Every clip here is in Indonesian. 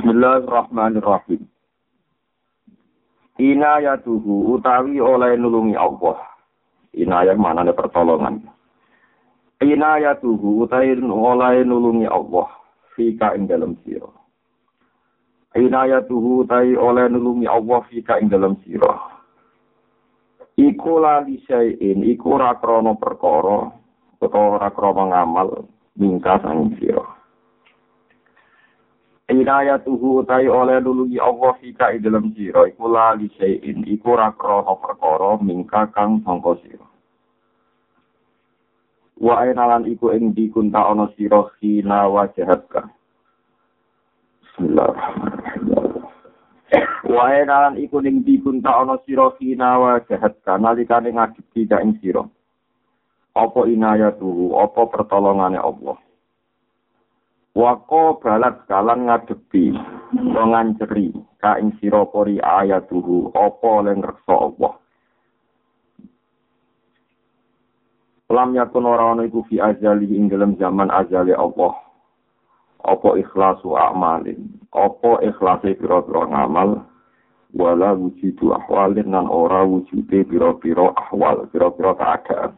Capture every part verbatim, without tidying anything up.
Bismillahirrahmanirrahim. Inayatuhu utawi oleh nulungi Allah. Inayah manane pertolongan. Inayatuhu utawi oleh nulungi Allah fika ing dalam sira. Inayatuhu utawi oleh nulungi Allah fika ing dalam sira. Iku la lisain iku ora krana perkara utawa ora krana ngamal mingkas ing sira. Inayatuhu utai oleh nulungi Allah fika ing dalam sira iku la lisain iku ora krana perkara mingka kang sangka sira. Wa enalan iku ing dikunta ana sira khina wajahatka. Bismillahirrahmanirrahim. Wa enalan iku ing dikunta ana sira khina wajahatka nalikane ngadepi ka ing sira. Apa inayatuhu apa pertolongane Allah. Wako balat kalan ngadepi nganceri ka ing sira pori ayatuhu apa len reksa Allah. Lam yakun ora ana iku fi azali ing dalam zaman azali Allah. Apa ikhlasu a'malin, apa ikhlase pira-pira ngamal wala wujudu ahwalin nan ora wujude pira-pira ahwal, pira-pira keadaan.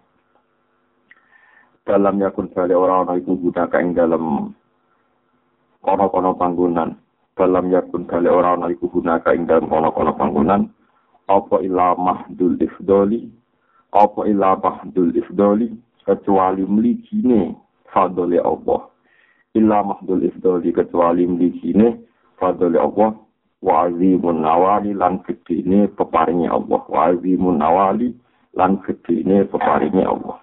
Dalam yakun bali ora ana iku gunakan ing dalam kono-kono panggonan dalam yakun bali ora ana iku gunaka ing dalem kono-kono panggonan apa ila mahdul ifdoli apa ila mahdul ifdoli kecuali mligine fadhole Allah ila mahdul ifdoli kecuali mligine fadhole Allah wa azimun nawali lan gedene peparinge Allah wa azimun nawali lan gedene peparinge Allah.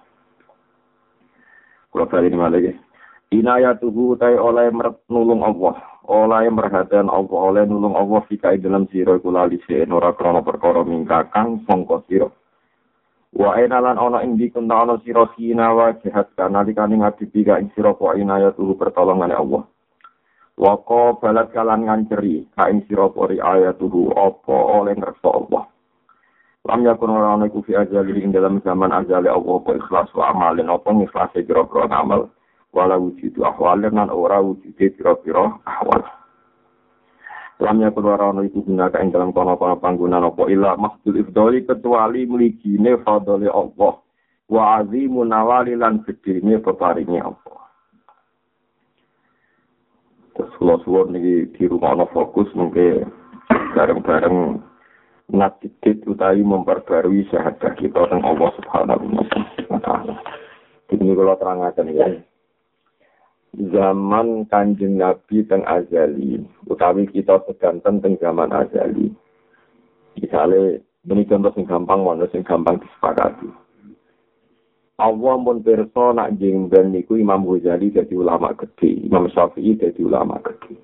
Kula bali malih inayatuhu tay oleh nulung Allah, oleh merhatian Allah, oleh nulung Allah fika dalam sira iku lali se ora krana perkara mingkakang sangka sira. Wa enalan ana ing dikunta ana sira khina wa jahat nalikane ngadepi ka ing sira wa inayatuhu pertolongane Allah. Wa qa balat kalan nganceri ka ing sira pori ayatuhu apa oleh ngersa Allah. Lam yakun ora ana iku fi ajali ing dalam zaman ajali Allah apa ikhlas wa amalin apa ikhlas kira-kira amal. Wala wujudu ahwalin nan ora wujude pira-pira ahwal. Lamnya keluar ana iku gunaka ing dalam kono-kono panggonan apa ila mahdul ifdoli kecuali mligine fadhole Allah wa azimun nawali lan gedene peparinge Allah. Terus suwon niki di rumah ana fokus mungkin bareng-bareng ngadit utawi memperbarui syahadat kita teng Allah Subhanahu wa taala. Ini kalau terangaken ya. Zaman Kanjeng Nabi teng azali utawi kita sedanten teng zaman azali misale meni contoh sing gampang mono sing gampang disepakati Allah pun pirsa nak jengben niku Imam Ghazali dadi ulama gede Imam Syafi'i dadi ulama gede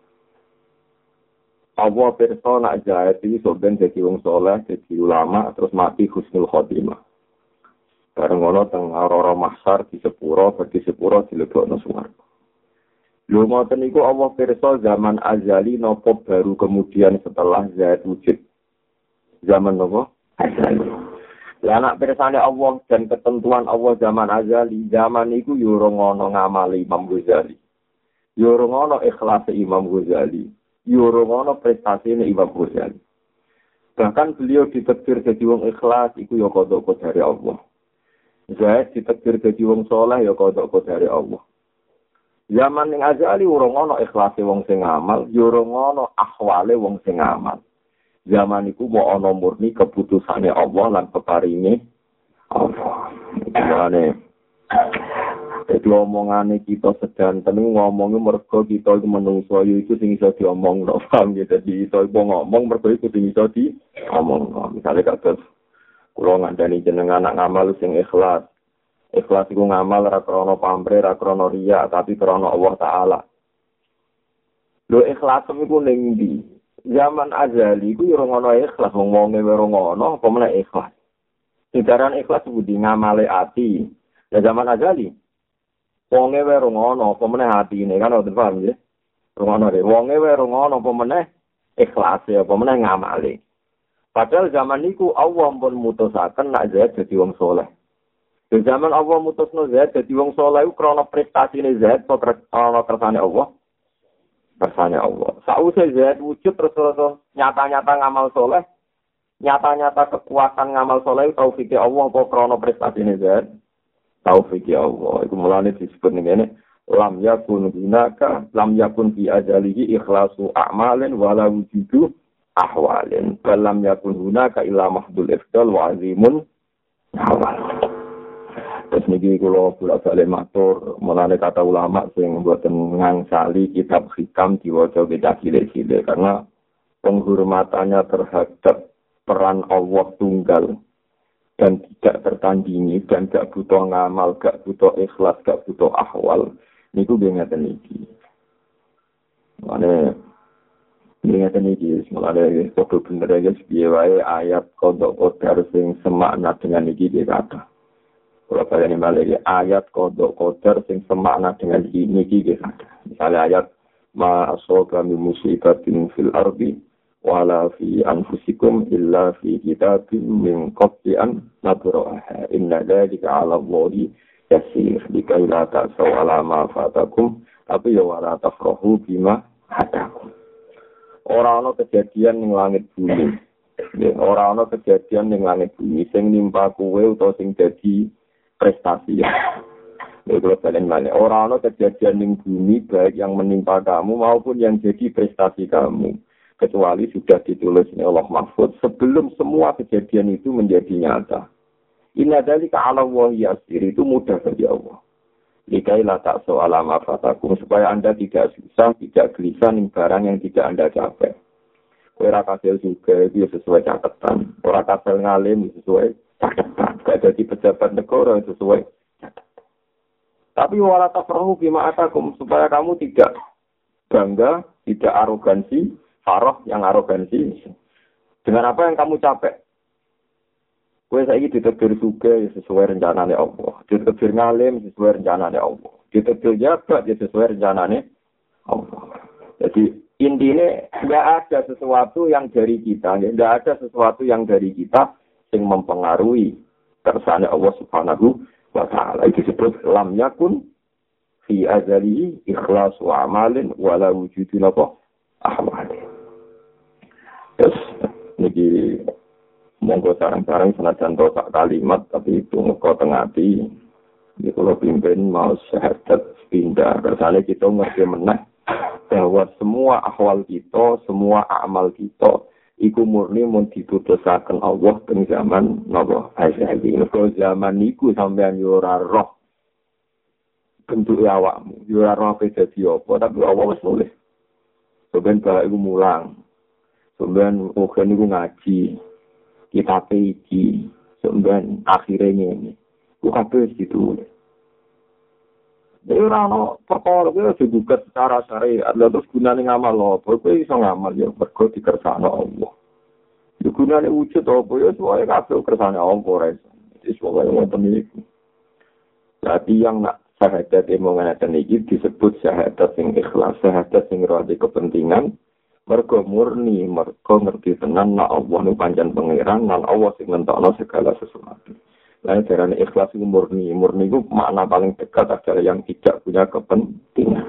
Allah pirsa nak Zaid iki soben dadi wong saleh dadi ulama terus mati husnul khotimah. Bareng ngono teng ora mahsyar di sepuro, di sepuro dilebokno swarga. Lho ngoten niku Allah pirsa zaman azali napa baru kemudian setelah Zaid wujud. Zaman napa? Azali. Lah anak pirsane Allah dan ketentuan Allah zaman azali, zaman niku yo ora ngono ngamali Imam Ghazali. Yo ora ngono ikhlas Imam Ghazali. Yo ora ngono prestasine Imam Ghazali. Bahkan beliau ditakdir jadi wong ikhlas iku yo kodok dari Allah. Zaid ditakdir dadi wong saleh ya kodok dari Allah. Zaman ning azali ora ngono ikhlase wong sing ngamal, ya ora ngono ahwale wong sing ngamal. Zaman iku mau ana murni keputusane Allah lan peparinge Allah. Mulane dadi omongane kita sedanten ngomongi mergo kita iku menungso iku sing iso diomongno, paham ya dadi iso ngomong mergo iku sing iso diomongno. Misale kados kula ngandani jenengan anak ngamal sing ikhlas. Ikhlas iku ngamal ora krana pamrih, ora krana riya, tapi krana Allah taala. Lho ikhlas iku ning ndi? Zaman azali iku ora ngono ikhlas, wong-wonge ora ngono, apa meneh ikhlas. Sindaran ikhlas budi ngamale ati. Ya zaman azali. Wonge ora ngono, apa meneh atine kan ora paham ya. Ngono deh, wonge ora ngono, apa meneh ikhlas ya, apa meneh ngamale. Padahal zaman niku Allah pun mutusaken nak Zaid dadi wong saleh. Di zaman Allah mutusno Zaid dadi wong saleh iku krana prestasine Zaid kok krana kersane Allah. kersane Allah. Sausé zat wujud terus terus nyata-nyata ngamal soleh, nyata-nyata kekuatan ngamal soleh taufik Allah apa krana prestasine zat. Taufik Allah. Iku mulane disebut ngene, lam yakun gunaka, lam yakun fi ajalihi ikhlasu a'malin wala wujudu ahwalin. Lam yakun gunaka illa mahdul ifdal wa azimun awal. Terus niki kula bolak-balik matur menane kata ulama sing mboten ngangsali kitab hikam diwaca beda cilik-cilik karena penghormatannya terhadap peran Allah tunggal dan tidak tertandingi dan gak butuh ngamal, gak butuh ikhlas, gak butuh ahwal. Niku nggih ngeten iki. Mane nggih ngeten iki, mulane padha bener ya piye wae ayat kodok kodar sing semakna dengan iki iki kata. Kalau kalian balik ayat kodok kodar sing semakna dengan ini iki kata. Misalnya ayat ma asoba min musibatin fil ardi wala fi anfusikum illa fi kitabim min qabli an nabraha inna dzalika 'ala Allahi yasir likai la ta'saw 'ala ma fatakum tapi ya wala tafrahu bima hadakum. Ora ana kejadian ning langit bumi. Ora ana kejadian ning langit bumi sing nimpa kowe utawa sing dadi prestasi ya. Kalau kalian mana orang orang kejadian di bumi baik yang menimpa kamu maupun yang jadi prestasi kamu kecuali sudah ditulis oleh Allah Mahfud sebelum semua kejadian itu menjadi nyata. Inna dzalika 'ala Allahi yasir, itu mudah bagi Allah. Likai la ta'so ala ma fatakum supaya Anda tidak susah, tidak gelisah ning barang yang tidak Anda capai. Ora kasil juga itu sesuai catatan, ora kasil ngalim sesuai catatan, gak jadi pejabat negara sesuai catatan. Tapi wala tafrahu bima atakum supaya kamu tidak bangga, tidak arogansi, faroh yang arogansi dengan apa yang kamu capai. Kowe saiki ditegur suge sesuai rencanane Allah, ditegur ngalim sesuai rencanane Allah, ditegur jabat sesuai rencanane Allah. Jadi intinya tidak ada sesuatu yang dari kita, tidak ada sesuatu yang dari kita yang mempengaruhi kersane Allah Subhanahu wa ta'ala. Itu disebut lam yakun fi azali ikhlasu amalin wala wujudu apa ahwalin. Terus niki monggo sarang-sarang senajan tok kalimat tapi itu ngeko teng ati. Iki kula pimpin mau syahadat pindah kersane kita ngerti meneh bahwa semua ahwal kita, semua amal kita iku murni mun diputusaken Allah teng zaman napa asyhadi. Nek zaman niku sampean yo ora roh bentuk awakmu, yo ora roh dadi apa, tapi Allah wis nulis. Sampeyan bae iku mulang. Sampeyan oke niku ngaji. Kita iki sampeyan akhire ngene. Ku kabeh ditulis. Jadi orang perkara itu juga secara syariat, terus gunanya ngamal apa? Kowe iso ngamal ya mergo dikersakno Allah. Ya gunane wujud apa ya soalnya kabeh kersane Allah ora iso. Wis pokoke wonten iki. Berarti yang nak syahadat emono ngene iki disebut syahadat sing ikhlas, syahadat sing ora kepentingan, mergo murni, mergo ngerti tenan nek Allah nu pancen pangeran, lan Allah sing nentokno segala sesuatu. Lain caranya ikhlas itu murni. Murni itu makna paling dekat adalah yang tidak punya kepentingan.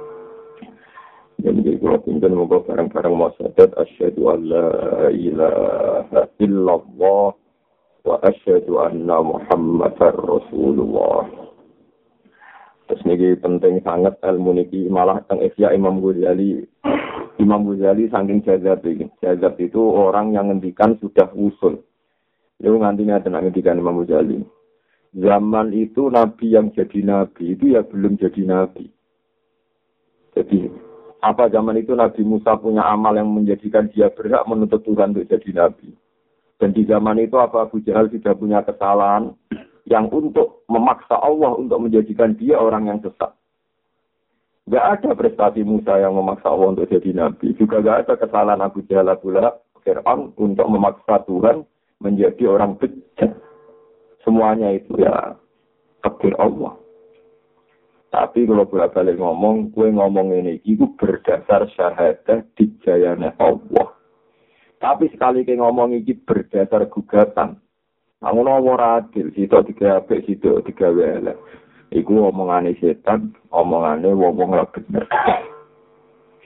Jadi kalau pimpin moga bareng-bareng mau syahadat asyhadu an la ilaha illallah wa asyhadu anna Muhammadar Rasulullah. Terus ini penting sangat ilmu niki malah teng Ihya Imam Ghazali. Imam Ghazali saking jazab iki. Jazab itu orang yang ngendikan sudah usul. Lalu nantinya tenang ngendikan Imam Ghazali. Zaman itu Nabi yang jadi Nabi itu ya belum jadi Nabi. Jadi apa zaman itu Nabi Musa punya amal yang menjadikan dia berhak menuntut Tuhan untuk jadi Nabi. Dan di zaman itu apa Abu Jahal sudah punya kesalahan yang untuk memaksa Allah untuk menjadikan dia orang yang sesat. Gak ada prestasi Musa yang memaksa Allah untuk jadi Nabi. Juga gak ada kesalahan Abu Jahal, Abu Lahab, Fir'aun untuk memaksa Tuhan menjadi orang bejat. Semuanya itu ya takdir Allah. Tapi kalau bolak-balik ngomong, gue ngomong ini itu berdasar syahadah dijayane Allah. Tapi sekali ke ngomong ini berdasar gugatan. Namun orang adil, situ tiga apik, situ tiga welek. Iku omongane setan, omongane wong-wong ora bener.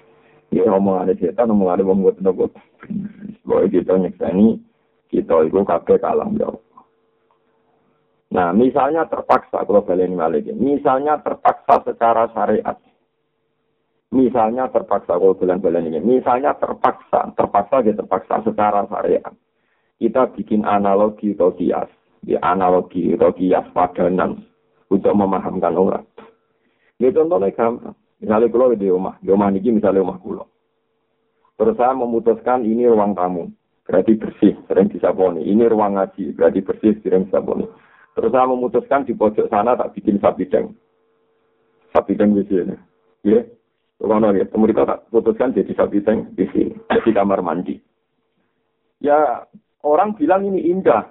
Ya omongan setan, omongan wong boten nopo. Boy kita nyekseni kita itu kabeh kalah ya. Nah, misalnya terpaksa kalau baleni malih misalnya terpaksa secara syariat. Misalnya terpaksa kalau bulan-bulan ini, misalnya terpaksa, terpaksa gitu terpaksa secara syariat. Kita bikin analogi atau kias, di analogi atau kias padanan untuk memahamkan orang. Ini contohnya gampang. Misalnya kalau di rumah, di rumah ini misalnya rumah kulo. Terus saya memutuskan ini ruang tamu, berarti bersih, sering disaboni. Ini ruang ngaji, berarti bersih, sering disaboni. Terus saya memutuskan di pojok sana tak bikin sabideng. Sabideng di sini. Ya, kalau ya, kemudian tak putuskan jadi sabideng di sini, di kamar mandi. Ya, orang bilang ini indah.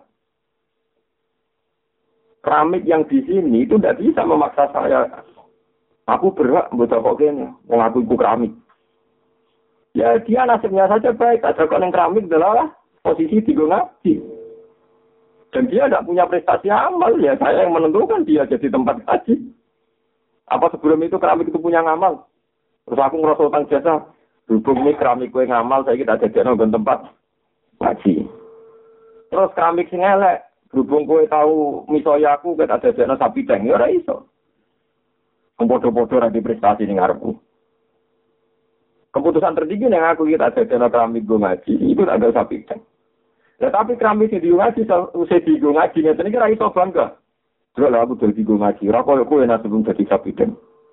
Keramik yang di sini itu tidak bisa memaksa saya. Aku berhak buat pokoknya, mengaku itu keramik. Ya dia nasibnya saja baik, ada kok yang keramik adalah posisi di ngaji. Dan dia tidak punya prestasi amal, ya saya yang menentukan dia jadi tempat ngaji. Apa sebelum itu keramik itu punya ngamal? Terus aku ngerasa utang jasa, berhubung ini keramik gue ngamal, saya kita jadi nonton tempat ngaji. Terus keramik sing elek, berhubung gue tahu misoya aku, kita jadi nonton sapi deng, ya ora iso. Bodoh-bodoh lagi prestasi ning ngarepku. Keputusan tertinggi yang aku kita ada keramik gue ngaji, itu ada sapi kan. Ya, tapi keramik di ngaji, usai di gue ngaji, ini kira iso bangga. Terus lah aku jadi gue ngaji, rakol aku enak sebelum jadi sapi kan.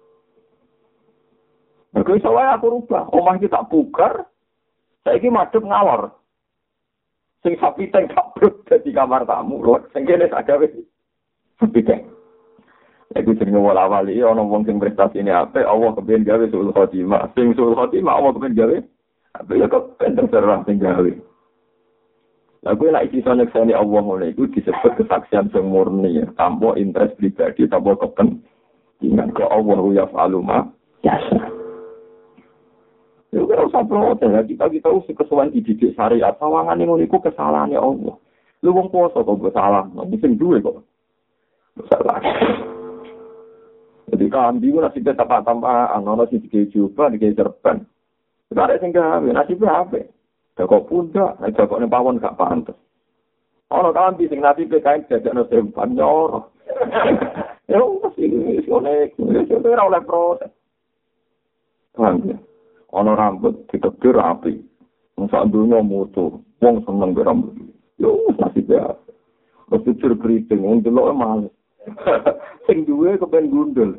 Aku iso wae aku rubah, omah iki tak pugar, saiki madhep ngalor. Sing sapi teng kabruk dadi kamar tamu, lho, sing kene sak gawe sapi teng. Iku jenenge wala wali ana wong sing prestasine apik, Allah kepen gawe sul khotimah. Sing sul khotimah Allah kepen gawe apik ya kok terserah sing gawe. Lah kuwi lek iso nyekseni Allah ngono iku disebut kesaksian sing murni ya, tanpa interest pribadi, tanpa kepentingan ke Allah ya faluma. Ya. Yo karo saprote ya kita kita usah kesuwen dididik syariat, sawangane ngono iku kesalahane Allah. Lu wong poso kok salah, nek sing duwe kok. Salah. Jadi kambi itu nasibnya tampak-tampak, anono sih dikei juba, dikei serban. Itu ada yang gawe, nasibnya apa? Jakok pundak, jakok ini pawon gak pantas. Ono kambi sing nasibnya kain jajak nasempan, nyoro. Ya, masih ini, sionek, sionek, oleh proses. Kambi, ono rambut, ditebir rapi. Masa dunia mutu, wong seneng berambut. Ya, nasibnya apa? Mesti cerkriting, wong deloknya males. Sing duwe kepen gundul.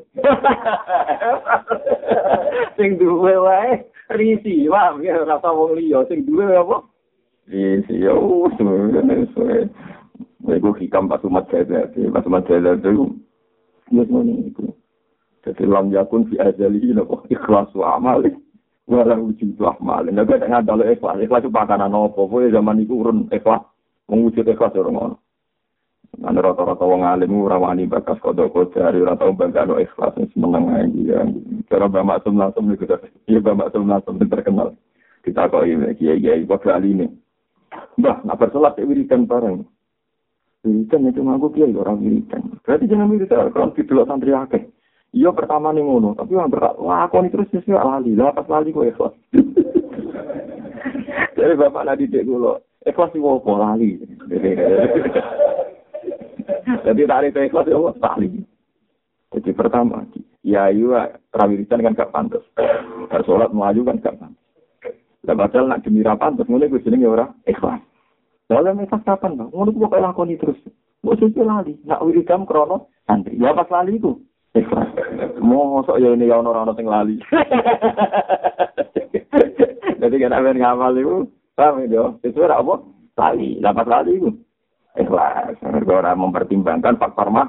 Sing duwe wae risi, paham ya rasa wong liya sing duwe apa? Risi yo suwe. Iku hikam pas umat saya, pas umat saya itu yo ngono iku. Dadi lam yakun fi azali napa ikhlas wa amal. Wala wujud amal. Nek gak ngadal ikhlas, ikhlas pakanan apa? Kowe zaman iku urun ikhlas, mewujud ikhlas ora ngono. Ana rata-rata wong alim ora wani bakas kodho-kodho ora tau bangga ikhlas seneng ae ya. Cara Mbak Maksum langsung niku to. Ya Mbak Maksum langsung terkenal. Kita kok iki kiai-kiai kok aline. Mbah, nak bersolat wiridan bareng. Wiridan itu ngaku kiai ora wiridan. Berarti jangan wiridan kalau didelok santri akeh. Iya pertama ning ngono, tapi wong berat. Wah, aku terus wis lali. Lah pas lali kok ikhlas. Jadi bapak nadi dek kula, ikhlas iki opo lali. Jadi tarik ikhlas ya Allah tali. Jadi pertama, ya iya rawiritan kan gak pantas. Bersolat maju kan gak pantas. Lah padahal nak demi ra pantas ngene kuwi jenenge ora ikhlas. Lah ikhlas kapan, Bang? Ngono kok lakoni terus. Mbok suci lali, nak wiridan krono santri. Ya pas lali iku ikhlas. Mosok ya ini ya ono-ono sing lali. Jadi kan amen ngamal iku, paham ya? Itu ora apa? Lali, dapat lali iku. Ikhlas, orang mempertimbangkan faktor mah.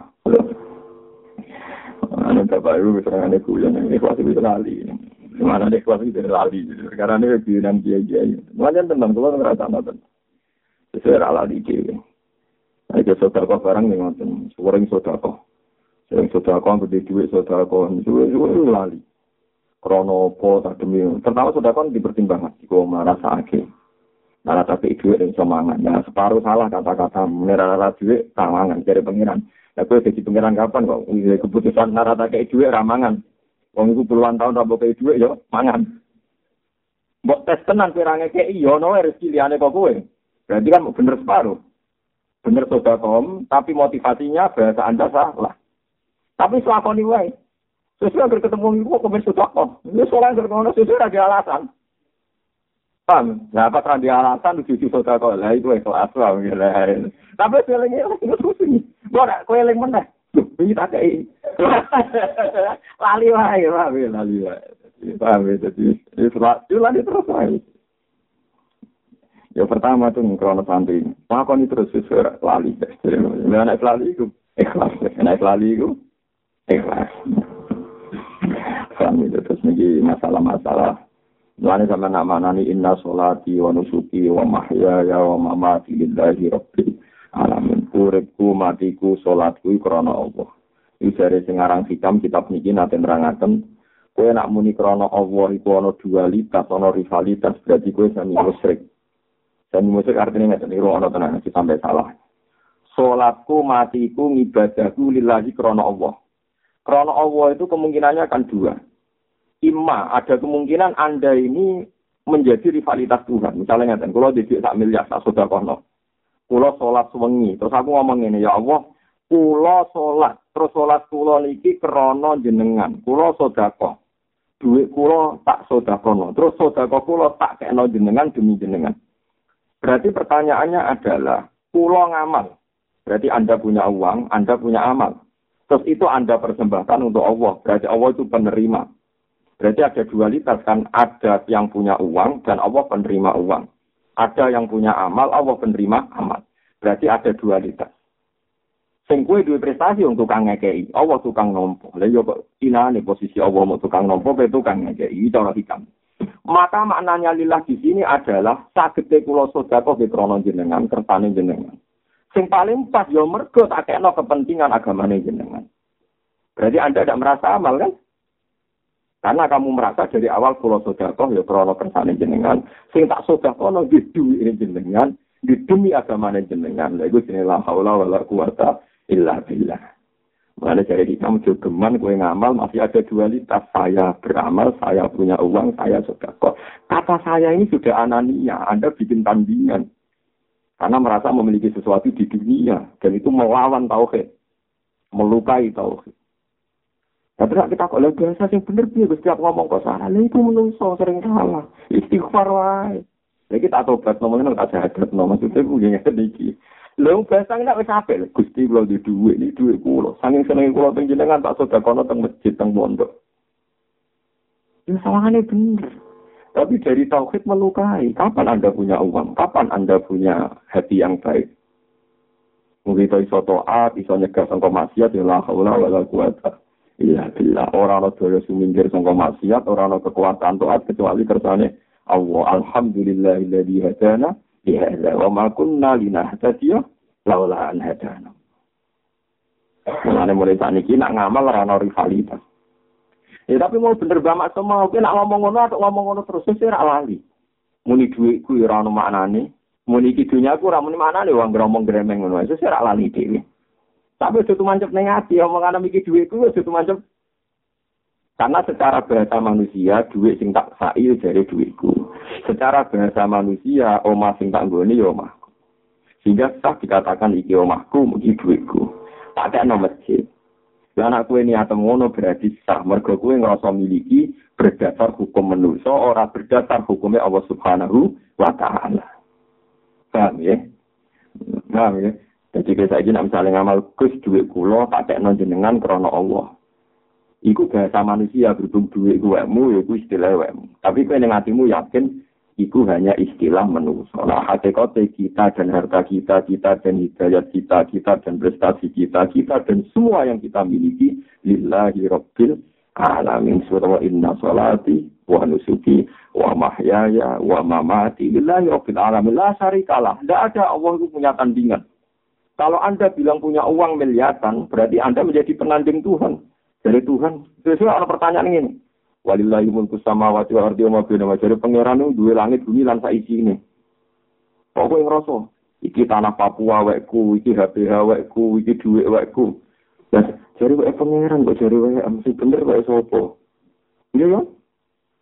Ada bapak ibu misalnya kuliah, ikhlas itu lali. Mana ada ikhlas itu lali. Karena ini kebiunan kiai-kiai. Makanya tentang keluar ngerasa nonton. Sesuai lali kiai. Ada sodako barang yang nonton. Sering sodako. Sering sodako, gede duit sodako. Suwe-suwe lali. Kronopo, tak demi. Pertama sodako dipertimbangkan. Jika merasa akhir. Nara tapi duit yang semangat. Nah, separuh salah kata-kata. Nara duit, ramangan. Jadi pengiran. Nah, gue jadi pengiran kapan kok? Keputusan nara tak duit, ramangan. Wong itu puluhan tahun rambut kayak duit, ya, mangan. Mbok tes tenan pirange kei yo ono rezeki liyane kok kowe. Berarti kan bener separuh. Bener sedekah, tapi motivasinya bahasa Anda salah. Tapi selakoni wae. Sesuai agar ketemu ibu kok ben sedekah. Ini soalnya agar ngono sesuai ada alasan. Paham? Nah, apa kan dia alasan lucu-lucu sedekah lah itu ikhlas lah ngene. Tapi selenge itu terus ini. Ora kowe eling meneh. Lho, iki tak kei. Lali wae, wae lali wae. Paham ya, jadi itu lali terus wae. Ya pertama tuh krono santri. Lakoni terus sesuai lali. Lah nek lali iku ikhlas. Nek lali iku ikhlas. Kami terus niki masalah-masalah. Mulane sampeyan nak manani inna sholati wa nusuki wa mahyaya wa mamati lillahi rabbil alamin. Uripku matiku salatku krana Allah. Iki jare sing aran hikam kitab niki nate nerangaken kowe nak muni krana Allah iku ana dualitas, ana rivalitas, berarti kowe sami musyrik. Sami musyrik artinya ngeten iki ana tenan iki sampai salah. Salatku matiku ngibadahku lillahi krana Allah. Krana Allah itu kemungkinannya akan dua. Imma, ada kemungkinan Anda ini menjadi rivalitas Tuhan. Misalnya ngeten, kalau didik sak miliar sak sedekahno. Kula salat wengi, terus aku ngomong ngene, ya Allah, kula salat, terus salat kula niki krana jenengan. Kula sedekah. Duit kula tak sedekahno. Terus sedekah kula tak kena jenengan demi jenengan. Berarti pertanyaannya adalah, kula ngamal. Berarti Anda punya uang, Anda punya amal. Terus itu Anda persembahkan untuk Allah. Berarti Allah itu penerima. Berarti ada dualitas kan. Ada yang punya uang dan Allah penerima uang. Ada yang punya amal, Allah penerima amal. Berarti ada dualitas. Sing kowe duwe prestasi untuk tukang ngekei. Allah tukang nompo. Lah yo kok inane posisi Allah mau tukang nompo, kowe tukang ngekei. Iki cara hikam. Maka maknanya lillah di sini adalah sagete kula sedekah di krana jenengan, kersane jenengan. Sing paling pas yo mergo tak kena kepentingan agamane jenengan. Berarti Anda tidak merasa amal kan? Karena kamu merasa dari awal kula sedekah ya krana kersane jenengan, sing tak sedekah no di duwe jenengan, di demi agamane jenengan. Lha iku jenenge la haula wala quwata illa billah. Mana jadi kamu jogeman kowe ngamal masih ada dualitas, saya beramal, saya punya uang, saya sedekah. Kata saya ini sudah anania, Anda bikin tandingan. Karena merasa memiliki sesuatu di dunia. Dan itu melawan tauhid. Melukai tauhid. Tapi kita kok lagi biasa yang benar dia. Setiap ngomong kok salah. Itu menungso sering salah. Istighfar wae. Ya kita tobat. Ngomongnya tak jahat. Maksudnya gue yang sedikit. Lalu biasa nggak bisa apa. Gusti kalau di duit. Ini duit kulo. Saking seneng kulo tenjenengan tak sudah kono teng masjid teng pondok. Ya salahnya bener. Tapi dari tauhid melukai. Kapan Anda punya uang? Kapan Anda punya hati yang baik? Mungkin itu iso to'at, iso nyegah sangka maksiat, ya la haula wa la quwata illa billah. Orang ada daya suminggir sangka maksiat, orang ada kekuatan to'at, kecuali kersane Allah. Alhamdulillahilladzi hadana lihadza wa ma kunna linahtadiya laula an hadana. Mulane mulai saniki nak ngamal ora ana rivalitas. Ya tapi mau bener banget semua, oke nak ngomong ngono atau ngomong ngono terus sih ora lali. Muni dhuwitku ya ora ono maknane. Muni iki dunyaku ora muni maknane wong ngomong gremeng ngono. Wis ora lali dhewe. Tapi aja tumancep ning ati omongane iki dhuwitku aja tumancep. Karena secara bahasa manusia dhuwit sing tak sai jare dhuwitku. Secara bahasa manusia omah sing tak nggone ya omahku. Sehingga sah dikatakan iki omahku, iki dhuwitku. Tak kena masjid. Lah anak kowe niat ngono berarti sah mergo kowe ngrasa miliki berdasar hukum manusia ora berdasar hukumnya Allah Subhanahu wa taala. Paham ya? Paham ya? Jadi kita iki nek misale ngamal Gus dhuwit kula tak tekno jenengan krana Allah. Iku bahasa manusia berhubung dhuwit kuwekmu ya iku istilah kuwekmu. Tapi kowe ning atimu yakin itu hanya istilah manusia. Nah, hakikatnya kita dan harta kita, kita dan hidayat kita, kita dan prestasi kita, kita dan semua yang kita miliki, lillahi rabbil alamin. Surah inna sholati wa nusuki wa mahyaya wa mamati lillahi rabbil alamin. La syarikalah. Tidak ada Allah itu punya tandingan. Kalau Anda bilang punya uang miliaran, berarti Anda menjadi penanding Tuhan. Dari Tuhan. Sesuai ada pertanyaan ini. Walillahi mulku samawati wal ardi wa ma bainahuma. Jare pangeran duwe langit bumi lan sak isine. Kok kowe ngrasa iki tanah Papua wekku, iki H P H wekku, iki dhuwit wekku. Lah jare wek pangeran kok jare wek mesti bener wae sapa? Iya ya?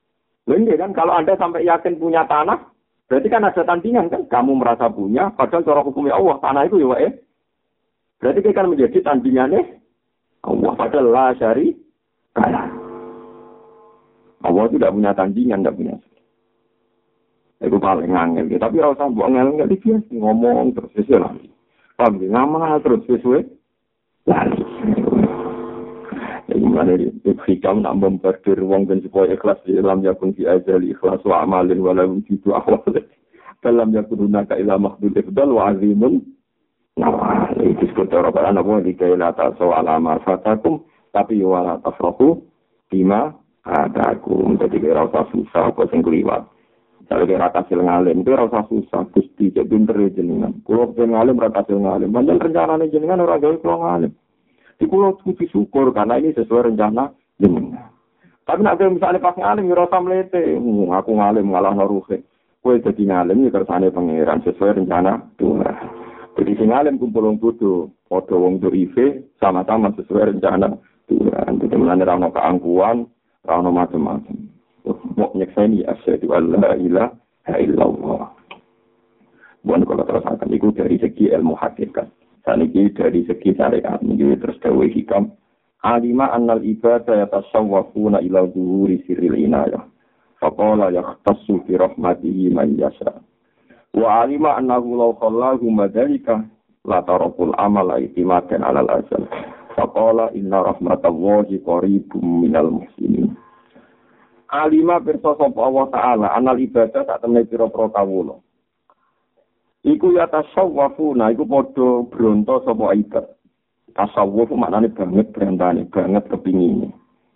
Loh ini kan kalau Anda sampai yakin punya tanah, berarti kan ada tandingan kan? Kamu merasa punya, padahal cara hukumnya Allah, tanah itu ya Pak ya. Berarti kan menjadi tandingannya Allah, padahal la syari kalah. Allah itu tidak punya tandingan, tidak punya. Itu paling angel. Tapi kalau usah buat angel, nggak dibias. Ngomong terus sesuai lagi. Paham ya? Ngamal terus sesuai lagi. Jadi mana dia? Hikam nak memperdir wong dan supaya ikhlas di dalam yakun fi ajali ikhlas wa amalin walau jitu awal. Dalam yakun hunaka ila makhdul ifdal wa azimun. Nah, itu disebut orang apa di kailata soal amal fatakum. Tapi wala tafrahu bima adakum. Jadi kira usah susah apa sing kliwat. Kalau kira kasil ngalim itu rasa susah, gusti jadi pinter jenengan. Kalau pengen ngalim rasa kasil ngalim, banyak rencana nih jenengan orang gawe kalau ngalim. Di pulau kudu syukur karena ini sesuai rencana jenengan. Tapi nak misalnya pas ngalim ya rasa melete, hmm, aku ngalim ngalah naruhe. Kue jadi ngalim ya kersane pangeran sesuai rencana Tuhan. Jadi si ngalim kumpul wong bodoh, podo wong doive sama-sama sesuai rencana Tuhan. Jadi mulane ra ono keangkuhan, ra ono macam-macam. Mau nyekseni asyhadu alla ilaha illallah. Bukan kalau terus akan itu dari segi ilmu hakikat. Saniki dari segi syariat ini terus dawe hikam. Alima annal ibadah yatasawwafuna ila zuhuri sirril inayah. Faqala yahtassu bi rahmatihi man yasha. Wa alima annahu law khallahu madhalika la tarakul amala itimadan alal azal. Faqala inna rahmatallahi qaribum minal muhsinin. Alima pirsa sapa Allah taala anal ibadah sak temne pira-pira kawula. Iku ya tasawwufuna iku padha bronto sapa ibadah. Tasawwuf maknane banget brantane, banget kepingine.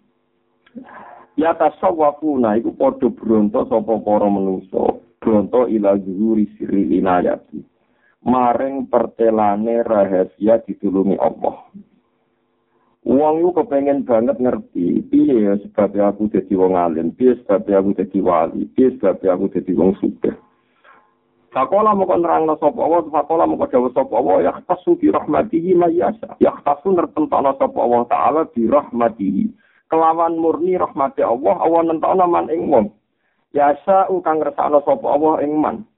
Ya tasawwufuna iku padha bronto sapa para manungsa, bronto ila zuhuri sirri inayati. Maring pertelane rahasia ditulungi Allah. Wong iku kepengen banget ngerti piye ya sebab aku dadi wong alim, piye sebab aku dadi wali, piye sebab aku dadi wong sugih. Sakola moko nerangno sapa Allah, sakola moko dawuh sapa Allah ya tasu bi rahmatihi mayyasa. Ya tasu nertentana sapa Allah taala bi rahmatihi. Kelawan murni rahmati Allah, Allah nentokno man ing wong. Yasa kang ngersakno sapa Allah ing man.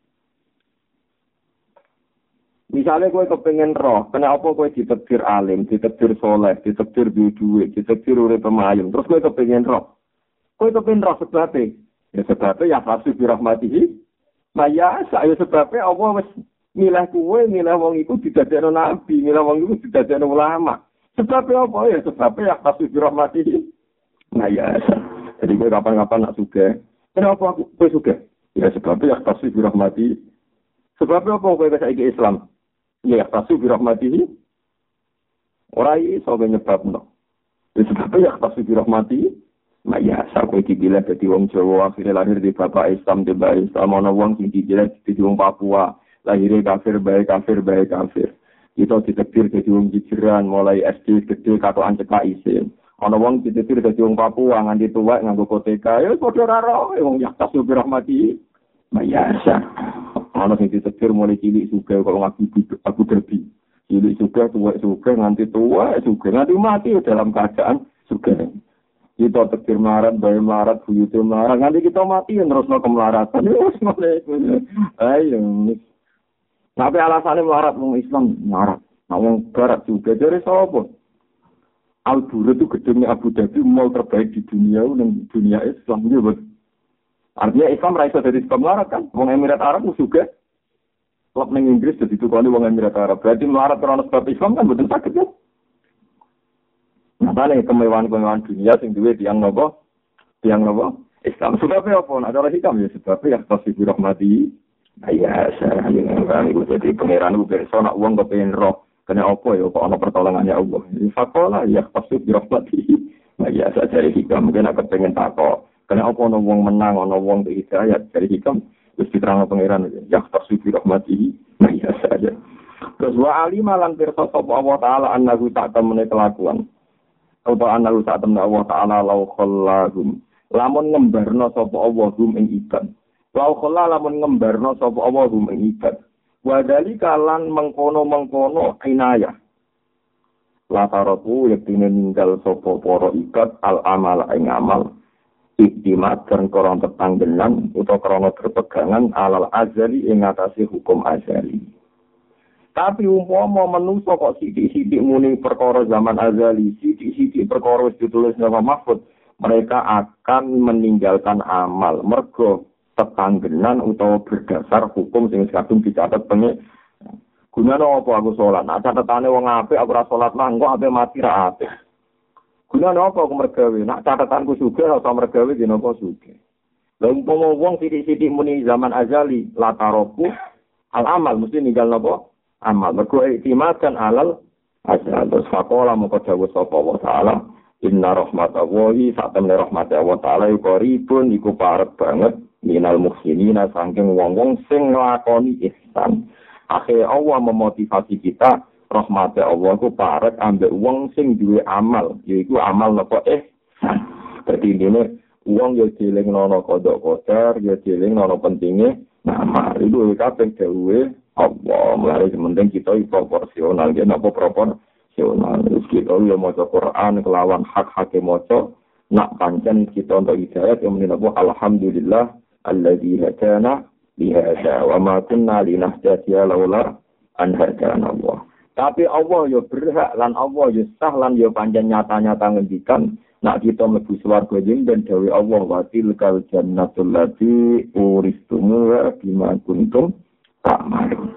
Misalnya kowe kepengen roh, kenapa kowe ditakdir alim, ditakdir soleh, ditakdir duwe-duwe, ditakdir urip pemayung, terus kowe kepengen roh. Kowe kepengen roh sebabnya, ya sebabnya ya hasil birahmatihi. Maya, saya sebabnya Allah wis milih kowe, milih wong iku didadekno nabi, milih wong iku didadekno ulama. Sebabnya apa ya? Sebabnya ya hasil birahmatihi. Maya, jadi kowe kapan-kapan nak sugih. Kenapa aku kowe sugih? Ya sebabnya ya hasil birahmatihi. Sebabnya apa kowe saiki Islam? Ya, tasu bi rahmatihi. Ora iso nyebabno. Wis sebab ya tasu bi rahmatihi. Maya sak iki gila dadi wong Jawa akhire lahir di bapak Islam di bae Islam ana wong sing gila dadi wong Papua, lahir kafir bae kafir bae kafir. Itu ditakdir dadi wong jijiran mulai S D gede katokan cekak isin. Ana wong ditakdir dadi wong Papua nganti tuwek nganggo koteka. Ya padha karo wong ya tasu bi rahmatihi. Maya sak ana sing ditakdir mulai cilik sugih kok ngaku aku derbi. Cilik sugih tuwek sugih nganti tuwek sugih nganti mati dalam keadaan sugih. Kita takdir melarat, bayi melarat, buyute melarat, nganti kita mati terusno kemelaratan. Wis ngene. Ayo. Tapi alasannya melarat wong Islam melarat. Nah wong barat juga dari sapa? Al-Bura itu gedungnya Abu Dhabi mall terbaik di dunia dan dunia Islam juga. Artinya Islam ra iso dadi melarat kan? Wong Emirat Arab juga. Klub ning Inggris dadi tukane wong Emirat Arab. Berarti melarat karena sebab Islam kan betul sakit ya. Nah, balik kemewahan-kemewahan dunia sing duwe tiyang napa? Tiyang napa? Islam sebabnya apa? Ada lagi hikam ya sebabnya ya tasbih rahmati. Ya, saya ingin ngerti jadi pangeran ku kersa nak wong kepengin roh. Kene apa ya kok ana pertolongannya Allah. Fakola ya tasbih rahmati. Ya, saya cari hikam mungkin aku pengen takok. Karena apa ana wong menang, ana wong iki hidayat dari hikam wis diterangno pangeran ya tasbih rahmatihi ya saja. Terus wa alima lan pirsa sapa Allah taala annahu tak temene kelakuan. Apa annahu tak temene Allah taala law khallahum. Lamun ngembarno sapa Allah hum ing ibad. Law khalla lamun ngembarno sapa Allah hum ing ibad. Wa dalika lan mengkono-mengkono inayah. La taratu yektine ninggal sapa para ibad al amal ing amal. iktimat dan korong tetanggenan utawa krono berpegangan alal azali ing ngatasi hukum azali. Tapi umpama manusa kok sithik-sithik muni perkara zaman azali, sithik-sithik perkara wis ditulis nama mahfud, mereka akan meninggalkan amal mergo tetanggenan utawa berdasar hukum sing kadung dicatet pengen. Gunane apa aku salat? Nek catetane wong apik aku ora salat mah engko ape mati ra apik. Gunane apa aku mergawe? Nek catatanku sugih ora mergawe dina apa sugih. Lah umpama wong sithik-sithik muni zaman azali lataroku al amal mesti ninggal napa? Amal. Mergo iktimadan alal azal. Terus faqala moko dawuh sapa wa ta'ala inna rahmatallahi satamne rahmate Allah taala iku ribun iku parek banget minal muhsinina saking wong-wong sing nglakoni ihsan. Akhirnya Allah memotivasi kita, rahmatnya Allah itu parek ambek wong sing duwe amal, yaitu amal apa eh. Jadi ini uang ya jeling nono kodok kodar, ya jeling nono pentingnya nama itu kabeh dawuhe Allah. Mulai sementing kita proporsional, ya napa proporsional. Terus kita ya maca Quran kelawan hak-hak maca, nak pancen kita untuk hidayah yang menapa alhamdulillah alladzi hadana lihada wa ma kunna linahtadiya laula an hadana Allah. Tapi Allah ya berhak lan Allah ya sah lan ya pancen nyata-nyata ngendikan nak kita mlebu swarga jeng dan dawuh Allah wa tilkal jannatul lati uristumuha bima kuntum ta'malun.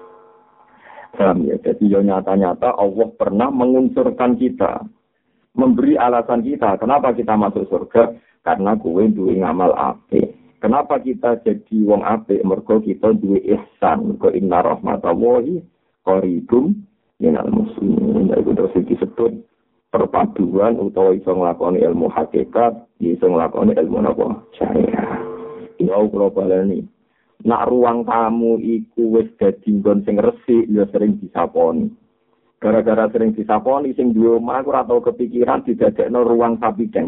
Paham ya? Jadi ya nyata-nyata Allah pernah mengunsurkan kita, memberi alasan kita kenapa kita masuk surga karena kowe duwe ngamal apik. Kenapa kita jadi wong apik? Mergo kita duwe ihsan. Mergo inna rahmatallahi qaribum minal muslimin. Itu terus disebut perpaduan utawa iso nglakoni ilmu hakikat, iso nglakoni ilmu napa? Syariah. Ya kula baleni. Nak ruang tamu iku wis dadi nggon sing resik ya sering disaponi. Gara-gara sering disaponi sing duwe omah ora tau kepikiran didadekno ruang sapideng.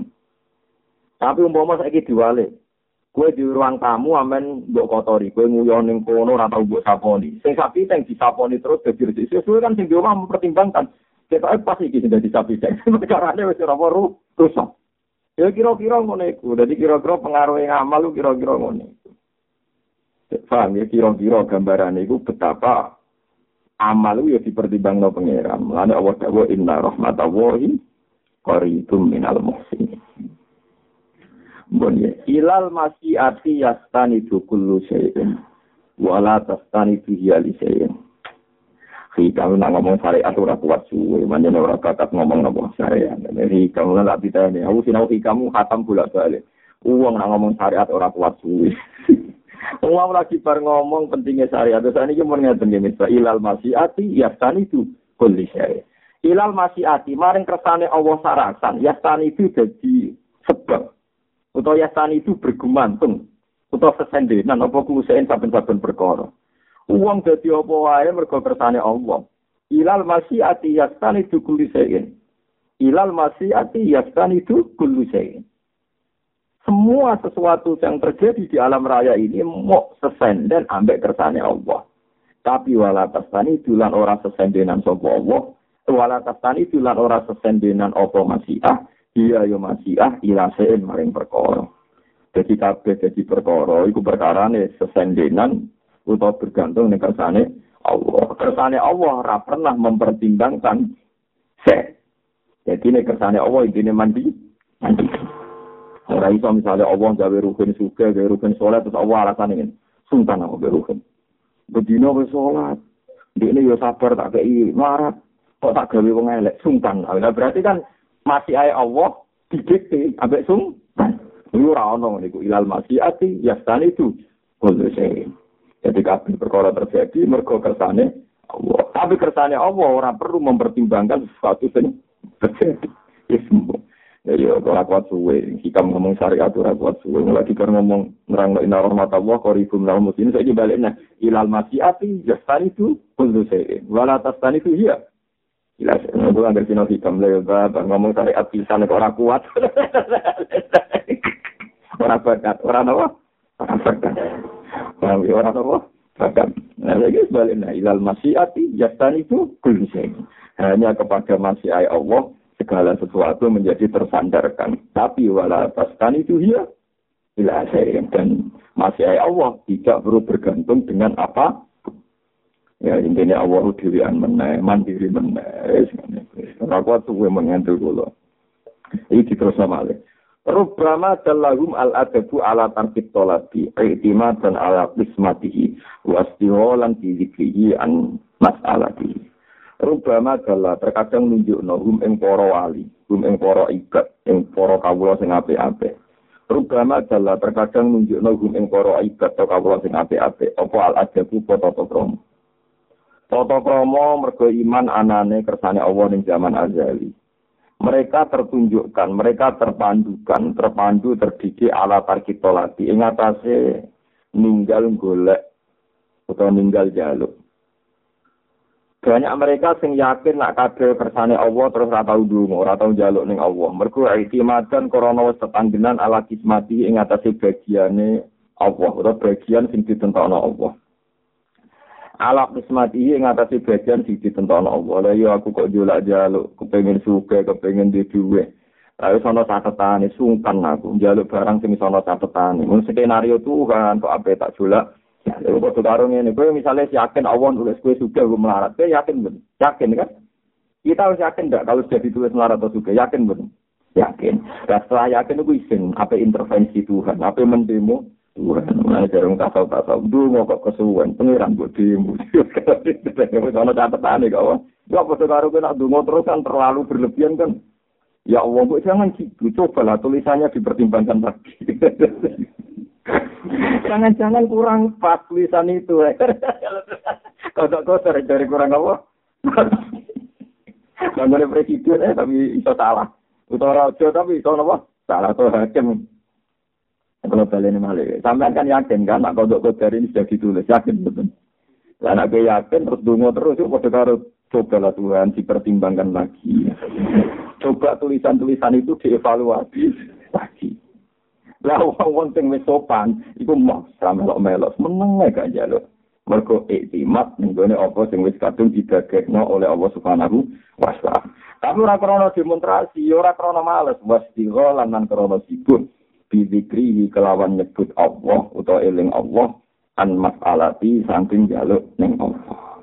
Tapi umpama saiki diwalik kowe di ruang tamu amen mbok kotori, kowe nguyon ning kono ora tau mbok saponi. Sing sapi teng disaponi terus dadi resik. Sesuai kan sing di omah mempertimbangkan. Ketoke pas iki sing dadi sapi teng. Carane wis ora weru rusak. Ya kira-kira ngono iku. Dadi kira-kira pengaruh ngamal lu kira-kira ngono iku. Paham ya kira-kira gambarane iku betapa amal lu ya dipertimbangno pangeran. Mulane Allah dawuh inna rahmatallahi qaribum minal muhsinin. Bonye ilal masyiati yastanidu kullu syai'in wala tastanidu hiali syai'in. Hikam nak ngomong syariat ora kuat suwe, manjane ora kakat ngomong napa syariat. Jadi kamu nak pitane, aku sinau hikamu khatam bolak-balik. Uang nak ngomong syariat ora kuat suwe. Uang lagi bar ngomong pentingnya syariat. Terus niki mun ngeten nggih misal ilal masyiati yastanidu kullu syai'in. Ilal masyiati maring kersane Allah sarasan, yastanidu dadi sebab utawa yasan itu bergumantung utawa sesendenan apa kuusain saben-saben perkara. Uang dadi apa wae mergo kersane Allah. Ilal masyiati yasan itu kulisain. Ilal masyiati yasan itu kulisain. Semua sesuatu yang terjadi di alam raya ini mau sesenden ambek kersane Allah. Tapi wala tasani dulan ora sesendenan sapa Allah. Wala tasani dulan ora sesendenan apa masyiah. Iya yo masyiah ilasein maring perkara. Jadi kabeh dadi perkara iku perkarane sesendenan utawa bergantung ning kersane Allah. Kersane Allah ora pernah mempertimbangkan se. Jadi nek kersane Allah intine mandi, mandi. Ora iso misale Allah gawe rukun suka, gawe rukun salat terus Allah alasane ngene. Sultan aku gawe rukun. Bedino wis salat. Dekne yo sabar tak kei marat. Kok tak gawe wong elek sultan. Lah berarti kan masih ayat Allah didikte ambek sultan. Iku ora ono niku ilal masyiati yastani itu kullu syai. Jadi kabeh perkara terjadi mergo kersane Allah. Tapi kersane Allah ora perlu mempertimbangkan sesuatu sing terjadi. Ismu. Jadi ora kuat suwe. Hikam ngomong syariat ora kuat suwe. Lagi kan ngomong nerangno inna rahmatallah qaribum minal muslimin. Saiki balikna ilal masyiati yastani itu kullu syai. Wala tastani itu hiya. Jelas, aku kan dari sini hikam lebar, ngomong syariat pisan orang kuat. Orang bakat, orang apa? Orang bakat. Orang apa? Bakat. Nah, lagi sebaliknya, ilal masyiati, jastan itu kulseng. Hanya kepada masyiat Allah, segala sesuatu menjadi tersandarkan. Tapi wala tastan itu ya, Bila saya dan masih Allah tidak perlu bergantung dengan apa. Ya intinya Allah dirian meneh, mandiri meneh. Ora kuat suwe mengentul kula. Iki terus malih. Rubbama dalahum al-adabu ala tarkib tolabi, i'timadan ala qismatihi, wastiholan dizikrihi an mas'alatihi. Rubbama dalah terkadang nunjukno hum ing para wali, hum ing para ibadah, ing para kawula sing apik-apik. Rubbama dalah terkadang nunjukno hum ing para ibadah atau kawula sing apik-apik, apa al-adabu tata krama. Tata krama mergo iman anane kersane Allah ning zaman azali. Mereka tertunjukkan, mereka terpandukan, terpandu, terdidik ala tarkitolati. Ing atase ninggal golek atau ninggal jaluk. Banyak mereka sing yakin nak kabeh kersane Allah terus ora tau ndonga, ora tau njaluk ning Allah. Mergo i'timadan krana wis tetanggenan ala kismati ing atase bagiane Allah, utawa bagian sing ditentokno Allah. Ala kismati ing atase bagian sing ditentokno Allah. Lah ya aku kok njolak njaluk, kepengin sugih, kepengin duwe dhuwit. Lah wis ana catetane sungkan aku njaluk barang sing ana catetane. Mun skenario Tuhan kok ape tak jolak. Ya, kok karo ngene, kowe misale yakin Allah nulis kowe sugih kowe melarat, kowe yakin ben? Yakin kan? Kita harus yakin enggak kalau sudah ditulis melarat atau sugih? Yakin ben? Yakin. Dan setelah yakin itu isin, apa intervensi Tuhan, apa mendemo Tuhan. Mulai jarang tasau-tasau, dulu kok kesuwen, pengiran buat demo. Kalau catatan nih kawan, ya apa karo kowe nak dungo terus kan terlalu berlebihan kan? Ya Allah, kok jangan gitu, cobalah tulisannya dipertimbangkan lagi. Jangan-jangan kurang pas tulisan itu. Kodok-kodok dari kurang apa? Nggak boleh presiden eh, tapi iso salah. Utara raja tapi iso apa? Salah atau hakim. Kalau balik ini malah. Sampai kan yakin kan, nak kodok-kodok ini sudah ditulis. Yakin betul. Anak gue yakin terus dungo terus. Kodok harus cobalah Tuhan dipertimbangkan lagi. Coba tulisan-tulisan itu dievaluasi lagi. Lah wong sing wis sopan iku mok melok-melok meneng gak njaluk. Mergo iktimat ning gone apa sing wis kadung didagekno oleh Allah Subhanahu wa taala. Tapi ora krana demonstrasi, ora krana males, wastigha lan lan krana sibuk bizikri kelawan nyebut Allah utawa eling Allah an mas'alati saking njaluk ning Allah.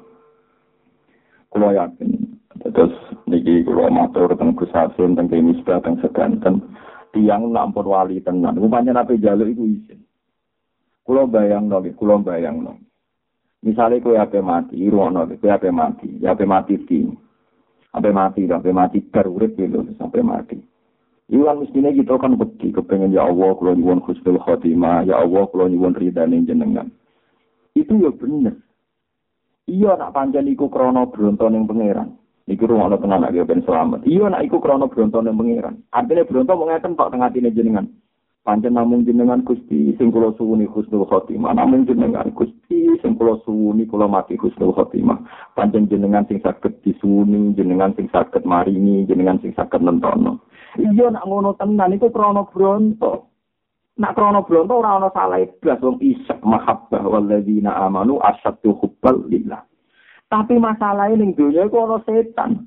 Kulo yakin terus niki kulo matur teng Gus Hasim teng Misbah teng sedanten tiang nampun wali tenan. Rupanya nabi jaluk itu izin. Kulo bayang nol, kulo bayang nol. Misalnya kue ape mati, ruang nol, kue ape mati, ape mati ti, ape mati, ape mati terurit gitu sampai mati. Iwan mestinya kita kan beti, kepengen ya Allah, kulo nyuwun husnul khotimah, ya Allah, kulo nyuwun ridane jenengan. Itu ya bener. Iya nak pancen iku krana bronto ning pangeran. Iku rumono tenan nek ben selamat. Iya nek iku krana bronto ning pangeran. Artine bronto mung ngeten tok teng atine jenengan. Pancen namung jenengan Gusti sing kula suwuni husnul khotimah. Namung jenengan Gusti sing kula suwuni kula mati husnul khotimah. Pancen jenengan sing saged disuwuni, jenengan sing saged maringi, jenengan sing saged nentono. Iya nek ngono tenan iku krana bronto. Nek krana bronto ora ana salah blas wong isek mahabbah walladzina amanu asyaddu hubbal lillah. Tapi masalahnya ning dunia itu ada setan.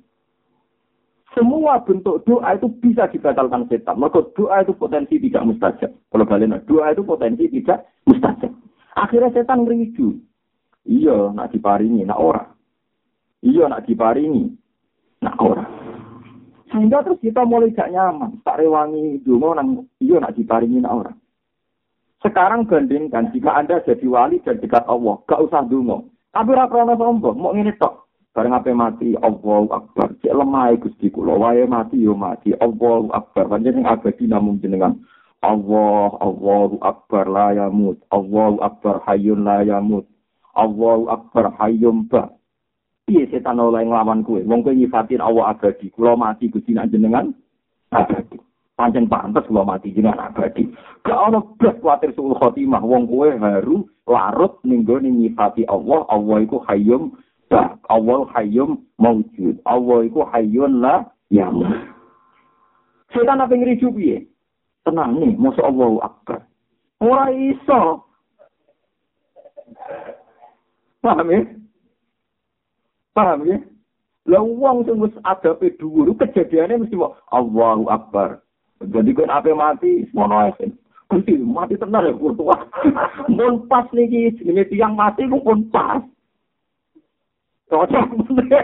Semua bentuk doa itu bisa dibatalkan setan. Maka doa itu potensi tidak mustajab. Kalau balik, doa itu potensi tidak mustajab. Akhirnya setan ngeridu. Iya, nak diparingi, nak ora. Iya, nak diparingi, nak ora. Sehingga terus kita mulai gak nyaman. Tak rewangi donga nang iya nak diparingi, nak ora. Sekarang bandingkan jika Anda jadi wali dan dekat Allah, gak usah donga. Tapi ora krana sombong, mok ngene tok. Bareng ape mati, Allahu Akbar. Cek lemah Gusti kula, wae mati yo mati. Allahu Akbar. Panjenengan abadi namung jenengan. Allah, Allahu Akbar la yamut. Allahu Akbar hayyun la yamut. Allahu Akbar hayyum ba. Piye setan oleh nglawan kowe? Wong kowe nyifatin Allah abadi. Kula mati Gusti jenengan abadi. Pancen pantes kula mati jenengan abadi. Gak ono blas kuwatir suul khotimah. Wong kowe haru larut ning gone nyifati Allah. Allah iku hayyum ba. Allah hayyum maujud. Allah iku hayyun la yamut. Setan apa ngriju piye? Tenang nih, mosok Allahu Akbar. Ora iso. Paham ya? Paham ya? Lah wong sing wis adabe dhuwur kejadiane mesti Allahu Akbar. Jadi kan ape mati mono ae. Gusti mati tenar ya tua. Mun pas niki jenenge tiyang mati ku pun pas. Cocok.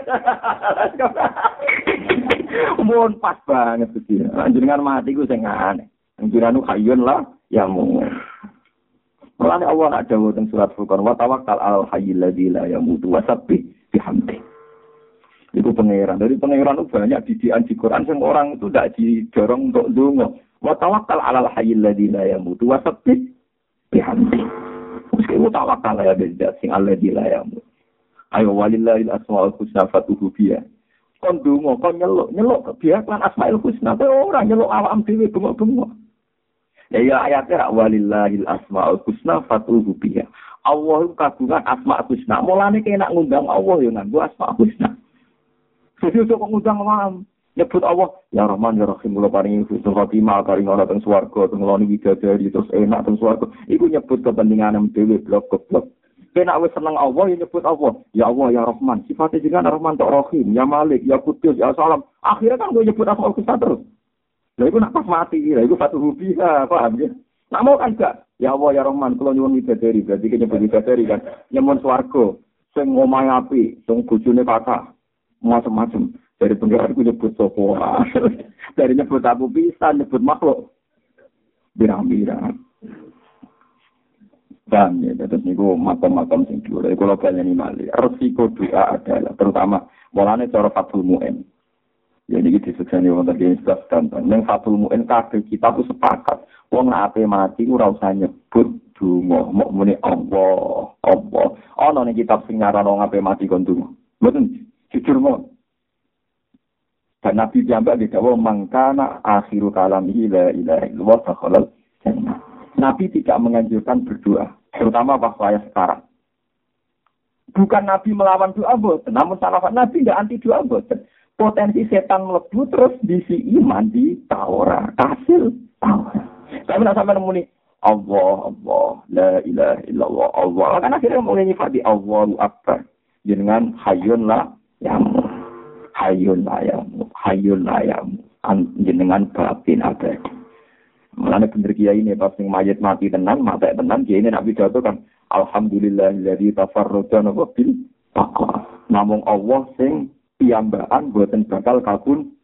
Mun pas banget Gusti. Jenengan mati ku sing aneh. Jenengan hayyun lah ya mu. Mulane Allah nak dawuh teng surat Furqan wa tawakkal al hayyil ladzi la yamutu wa sabbih bihamdi. Itu pangeran. Dari pangeran itu banyak didikan di Quran yang orang itu tidak didorong untuk dungo. Wa tawakkal 'alal hayyil ladzi la yamutu wa sabbih bihamdi. Meski wa tawakkal ya beda sing alladzi la yamutu. Ayo walillahil asmaul husna fatuhu biya. Kon dungo, kon nyeluk, nyeluk biya kan asmaul husna. Kowe ora nyeluk awam dhewe bengok-bengok. Ya ya ayatnya walillahil asmaul husna fatuhu biya. Allah kagungan asmaul husna. Mulane kena ngundang Allah yo nganggo asmaul husna. Jadi untuk mengundang awam nyebut Allah ya Rahman ya Rahim kula paringi husnul khotimah paring ana teng swarga teng ngloni widadari terus enak teng swarga iku nyebut kepentingan dhewe blok-blok. Kena wis seneng Allah ya nyebut Allah ya Allah ya Rahman sifatnya jenengan Rahman tok Rahim ya Malik ya Qudus ya Salam akhirnya kan gue nyebut asmaul husna terus. Lah iku nak pas mati lah iku fatuhu biha paham ya. Nak mau kan gak ya Allah ya Rahman kula nyuwun widadari berarti nyebut widadari kan nyuwun swarga sing omahe apik sing bojone kathah macam-macam dari penggara aku nyebut sopo dari nyebut abu bisa nyebut makhluk birang-birang dan ya terus niku makam-makam sing dhuwur dari kula baleni malih resiko doa adalah terutama mulane cara Fathul Mu'in ya niki disukseni wonten ing sebelas danten ning Fathul Mu'in kabeh kita ku sepakat wong nek ape mati ora usah nyebut donga mok muni Allah Allah ana ning kitab sing nyaran wong ape mati kon donga mboten jujur mau. Dan Nabi jambak di dawa mangkana akhiru kalamihi la ilaha illallah dakhalal jannah. Nabi tidak menganjurkan berdoa, terutama pas saya sekarang. Bukan Nabi melawan doa boten, namun salafat Nabi tidak anti doa boten. Potensi setan mlebu terus diisi iman di Taurat, hasil Taurat. Tapi nak sampai nemu nih Allah Allah la ilaha illallah Allah. Kan akhirnya mulai nyifati Allahu akbar. Jenengan hayyun lah yang hayul layam, hayul layam, jenengan batin abadi. Mulane bener kiai ini pas sing mayit mati tenan, mati tenan kiai ini nak pidato kan alhamdulillahilladzi tafarrada bil taqwa. Namung Allah sing piyambakan boten bakal kabun.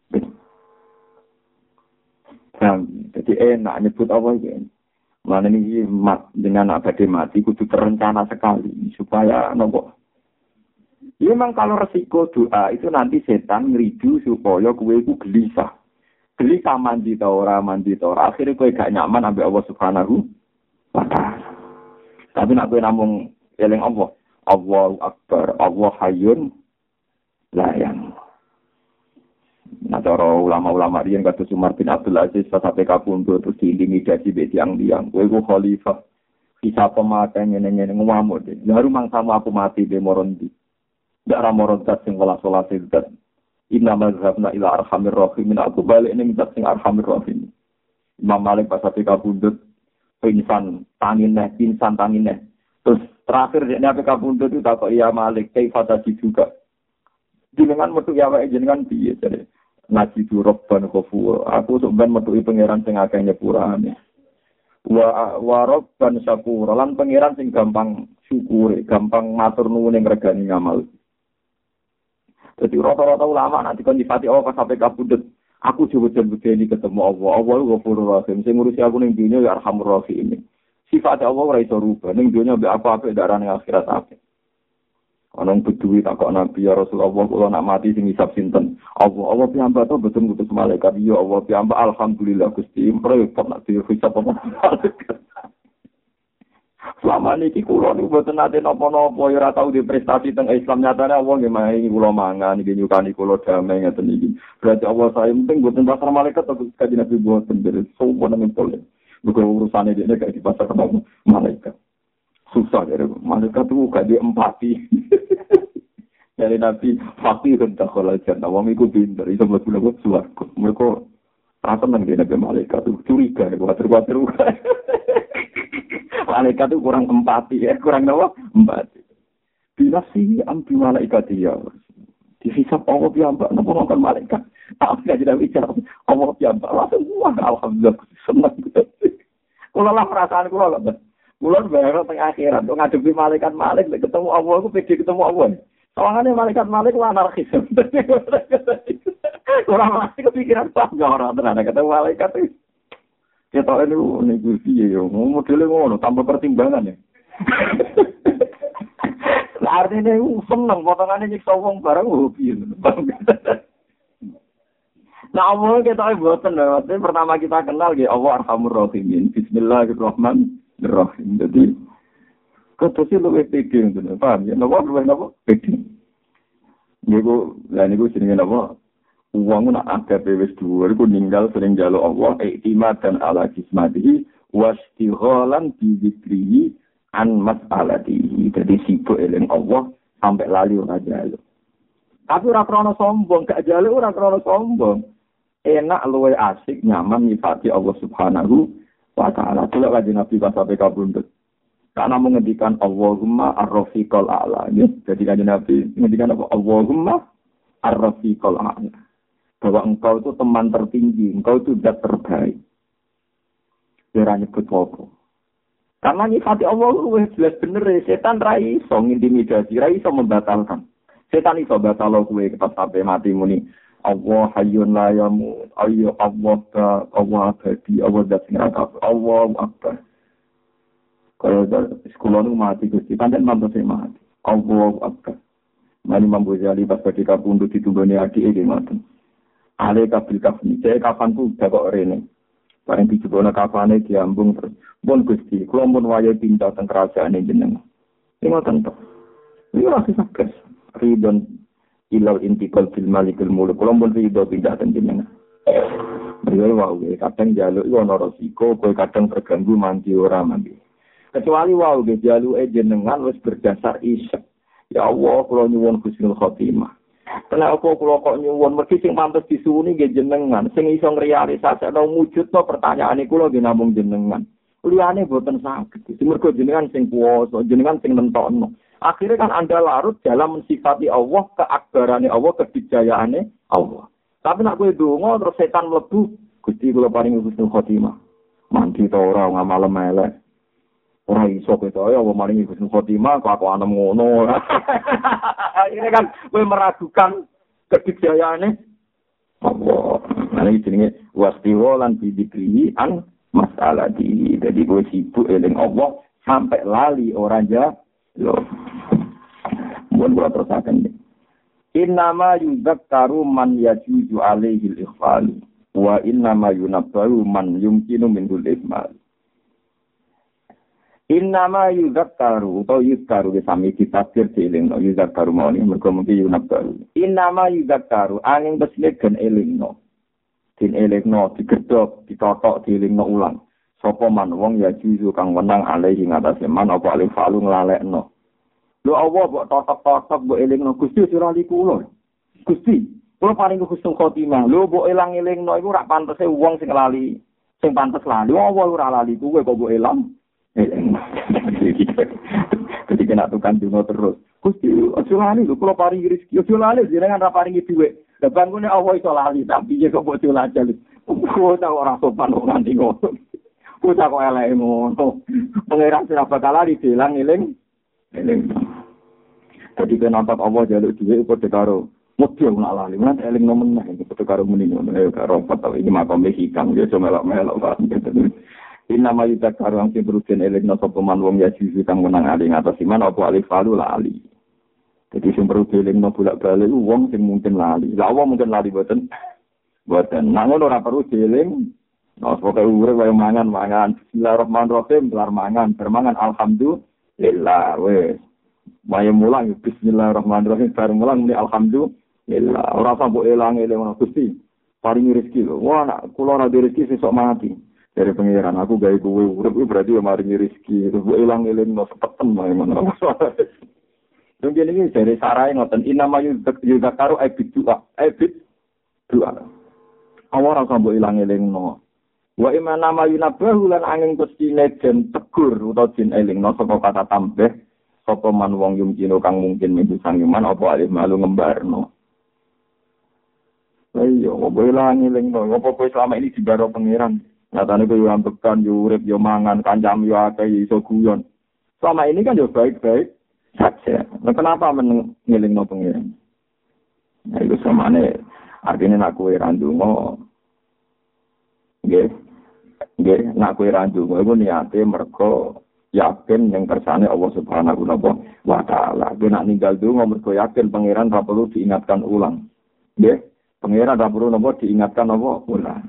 Nah, jadi enak nyebut Allah iki. Mulane iki dengan abadi mati kudu terencana sekali supaya nopo. Ya memang kalau resiko doa itu nanti setan ngeridu supaya kue ku gelisah. Gelisah mandi ta ora, mandi ta ora. Akhirnya kue gak nyaman ambek Allah Subhanahu wa ta'ala. Tapi nak kue namung eling Allah. Allahu Akbar, Allah Hayyun la yang. Nah, cara ulama-ulama riyen kados Umar bin Abdul Aziz sampai kapundhut terus diintimidasi be tiyang-tiyang. Kowe ku khalifah. Bisa pemakai ngene-ngene ngamuk. Lalu mangsamu aku mati be morondi. Ndak ra morontat sing wala salat itu. Inna mazhabna ila arhamir rahimin. Aku balik ning zat sing arhamir rahim. Imam Malik pas ape kabundut pingsan tangineh, pingsan tangineh. Terus terakhir dia ape kabundut itu takok ya Malik, kaifa juga. Jenengan metu ya wae jenengan piye jare. Ngaji du robban khofur. Aku sok ben metuki pangeran sing akeh nyepurane. Wa wa robban syakur. Lan pangeran sing gampang syukure, gampang matur nuwun ing regani ngamal. Jadi rata-rata ulama nanti kon difati Allah pas sampai kabudut. Aku coba-coba ini ketemu Allah. Allah itu Ghafurur Rahim. Sing ngurusi aku ning dunya ya Arhamur Rahim. Sifat Allah ora iso rubah. Ning dunya mbek apa-apa darane akhirat apik. Ana beduwi takok Nabi ya Rasulullah kula nak mati sing hisab sinten? Allah Allah piyambak to betul ngutus malaikat. Ya Allah piyambak alhamdulillah Gusti. Repot nak dihisab apa malaikat. Selama ini kula niku mboten nate napa-napa ya ora tau di prestasi teng Islam nyatane Allah nggih maringi kula mangan nggih nyukani kula damai ngeten iki. Berarti Allah saya penting mboten pasar malaikat atau kaji Nabi mboten beres sowan nang tole. Bukan urusane dene kayak di pasar malaikat. Susah ya malaikat itu gak di empati. Dari Nabi fakir dan dakhalal jannah wong iku pinter iso mlebu nang swarga. Mereka rasa nang Nabi malaikat itu curiga kuwatir-kuwatir. Malaikat itu kurang empati ya, kurang apa? Empati. Bila sih ambil malaikat dia, dihisap Allah piyambak, nopo nonton malaikat. Aku nggak tidak bicara Allah piyambak, langsung wah alhamdulillah senang. Kula lah perasaan kula lho. Kula bayar teng akhirat kok ngadepi malaikat Malik ketemu Allah aku pede ketemu Allah. Sawangane malaikat Malik ku anarkis. Ora mesti kepikiran pas ora tenan ketemu malaikat iki. Ketok niku niku piye yo modele ngono tanpa pertimbangan ya. Lah artine ku seneng potongane nyiksa wong bareng hobi. Nah, Allah kita boten lho. Pertama kita kenal nggih Allah Arhamur Rahimin. Bismillahirrahmanirrahim. Jadi ketose luwih pede ngono. Paham ya? Napa luwih napa? Pede. Niku lha niku jenenge napa? Wong nak adabe wis dhuwur iku ninggal sering njaluk Allah iktimad dan ala jismatihi wastighalan bi dzikrihi an mas'alatihi. Jadi sibuk eling Allah sampai lali ora njaluk. Tapi ora krana sombong, gak njaluk ora krana sombong. Enak luwe asik nyaman nyifati Allah Subhanahu wa taala. Delok kanjeng Nabi pas sampai kabundut. Karena mengendikan Allahumma ar-rafiqal a'la. Jadi kanjeng Nabi mengendikan apa? Allahumma ar-rafiqal a'la. Bahwa engkau itu teman tertinggi, engkau itu zat terbaik. Ora nyebut apa. Karena nyifati Allah luwih jelas bener, setan ra iso ngintimidasi, ra iso membatalkan. Setan iso batalo kowe kepas sampai mati muni. Allah hayyun la yamut, ayo Allah ta Allah abadi, Allah zat sing ra kabeh, Allah akbar. Kalau sekolah nu mati Gusti, pancen mantu sing mati. Allah akbar. Mani Imam Ghazali pas ketika pundut ditunggone adik iki ngoten. Ale kabil kafni, saya kafanku udah kok rene. Bareng dijebone kafane diambung terus. Pun Gusti, kula mun wayahe pindah teng kerajaane jenengan. Iki ngoten to. Iki ora sakes. Ridon ilal intikal fil malikul mulk kula pun ridho pindah teng jenengan. Beliau wae kadang njaluk iku ana resiko, kowe kadang terganggu mandi ora mandi. Kecuali wae ge jaluke jenengan wis berdasar isyak. Ya Allah, kula nyuwun husnul khotimah. Kenapa kula kok nyuwun mergi sing pantes disuwuni nggih jenengan, sing iso ngrealisasekno wujudno pertanyaane kula nggih namung jenengan. Liyane boten saged. Mergo jenengan sing kuwasa, jenengan sing nentokno. Akhirnya kan Anda larut dalam mensifati Allah, keakbarannya Allah, kedijayaannya Allah. Tapi nak kowe donga terus setan mlebu, Gusti kula paringi husnul khotimah. Mandi ta ora ngamal elek. Ora iso kowe to ya paringi husnul khotimah kok aku anem ngono. Akhirnya kan kowe meragukan kedijayaannya Allah. Nah iki jenenge wastiwa lan bidikri an masalati. Jadi kowe sibuk eling Allah sampai lali ora ja loh, buat buat terusakan deh. Innama yuzakkaru man yajuju alaihi al-ikhfal wa innama yunabbaru man yumkinu minhul ihmal. Innama yuzakkaru atau yuzakkaru sami ditafsir dilingno yuzakkaru mawani mergo mungkin yunabbaru. Innama yuzakkaru angin beslik gen elingno. Din elingno digedhok, ditotok dilingno ulang. Sapa man wong ya juzu kang wenang alaihi ngatasé man apa alih falu nglalekno. Lho Allah mbok totok-totok mbok elingno Gusti ora li kula. Gusti, kula paring husnul khotimah. Lho mbok elang-elingno iku ora pantese wong sing lali, sing pantes lali. Allah ora lali kuwe kok mbok elang. Eling. Jadi kena tukang dungo terus. Gusti, aja lali lho kula paringi rezeki. Aja lali jenengan ra paringi dhuwit. Lah bangune Allah iso lali tapi kok mbok dilajal. Kok ora sopan kok nganti ngono. Putra kok elek ngono. Pangeran sira bakal lali dilang eling. Eling. Dadi kenapa Allah jaluk dhewe padha karo model nak lali. Mas eling nomen nek padha karo muni ngono. Ya karo apa iki makom hikam ya cuma melok-melok kan. Inna ma yudakaru ang sing eling sapa man wong ya sisi kang menang ali ngatas iman apa alif falu lali. Jadi sing perlu eling bolak-balik wong sing mungkin lali. Lah Allah mungkin lali boten. Boten. Nang ngono ora perlu eling. Nah, semoga urip kaya mangan-mangan. Bismillahirrahmanirrahim, kelar mangan, bermangan alhamdulillah. Wes. Waya mulang bismillahirrahmanirrahim, bar mulang muni alhamdulillah. Ora sampe elang-eling ngono Gusti. Paringi rezeki lho. Wah, nak kula ora rezeki sesuk mati. Dari pengiran aku gawe kowe urip berarti ya maringi rezeki. Terus elang-eling no sepeten wae ngono. Mungkin ini dari sarai ngoten inama yuzakaru aibid doa. Aibid doa. Awak ora sampe elang-eling no. Wa imana ma yunabahu lan angin kustine den tegur utawa den elingno saka kata tambah sapa man wong yumkino kang mungkin minggu sangiman apa alih malu ngembarno. Ayo, opo ilang elingno, opo kowe selama ini dibaro pangeran. Nyatane kowe yo ambekan, yo urip, yo mangan, kancam yo akeh, iso guyon. Selama ini kan yo baik-baik saja. Nah, kenapa mengelingno pengiran? Nah, itu samane artinya nak kowe ra ndonga. Nggih. Nggih, nak kowe ra ndonga iku niate mergo yakin yang kersane Allah Subhanahu wa taala. Kowe nak ninggal ndonga mergo yakin pangeran ra perlu diingatkan ulang. Nggih, pangeran ra perlu napa diingatkan apa ulang.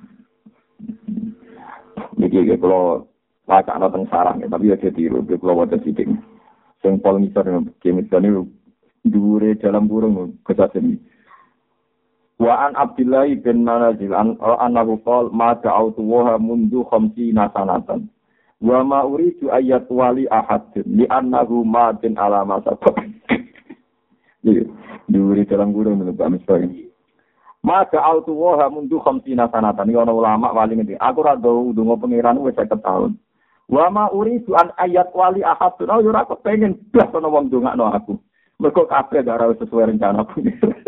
Niki kalau wacana teng sarang, tapi ya ditiru, kalau wajah sidik. Sing pol misor, kemisor ini dure dalam burung kesasen. Wa an Abdullah bin Manazil an annahu qol ma da'awtu wa mundu khamsina sanatan. Wa ma uridu ayat wali ahad li annahu ma bin alama sabab. Jadi dure dalam burung menurut misor ini. Maka autu waha mundu khamsina sanatan. Ini orang ulama wali ngerti. Aku rado dungo pengiran wis seket tahun. Wa ma uridu an ayat wali ahadun. Oh, yura aku pengen blas ana wong ndongakno aku. Mergo kabeh gak ora sesuai rencana aku.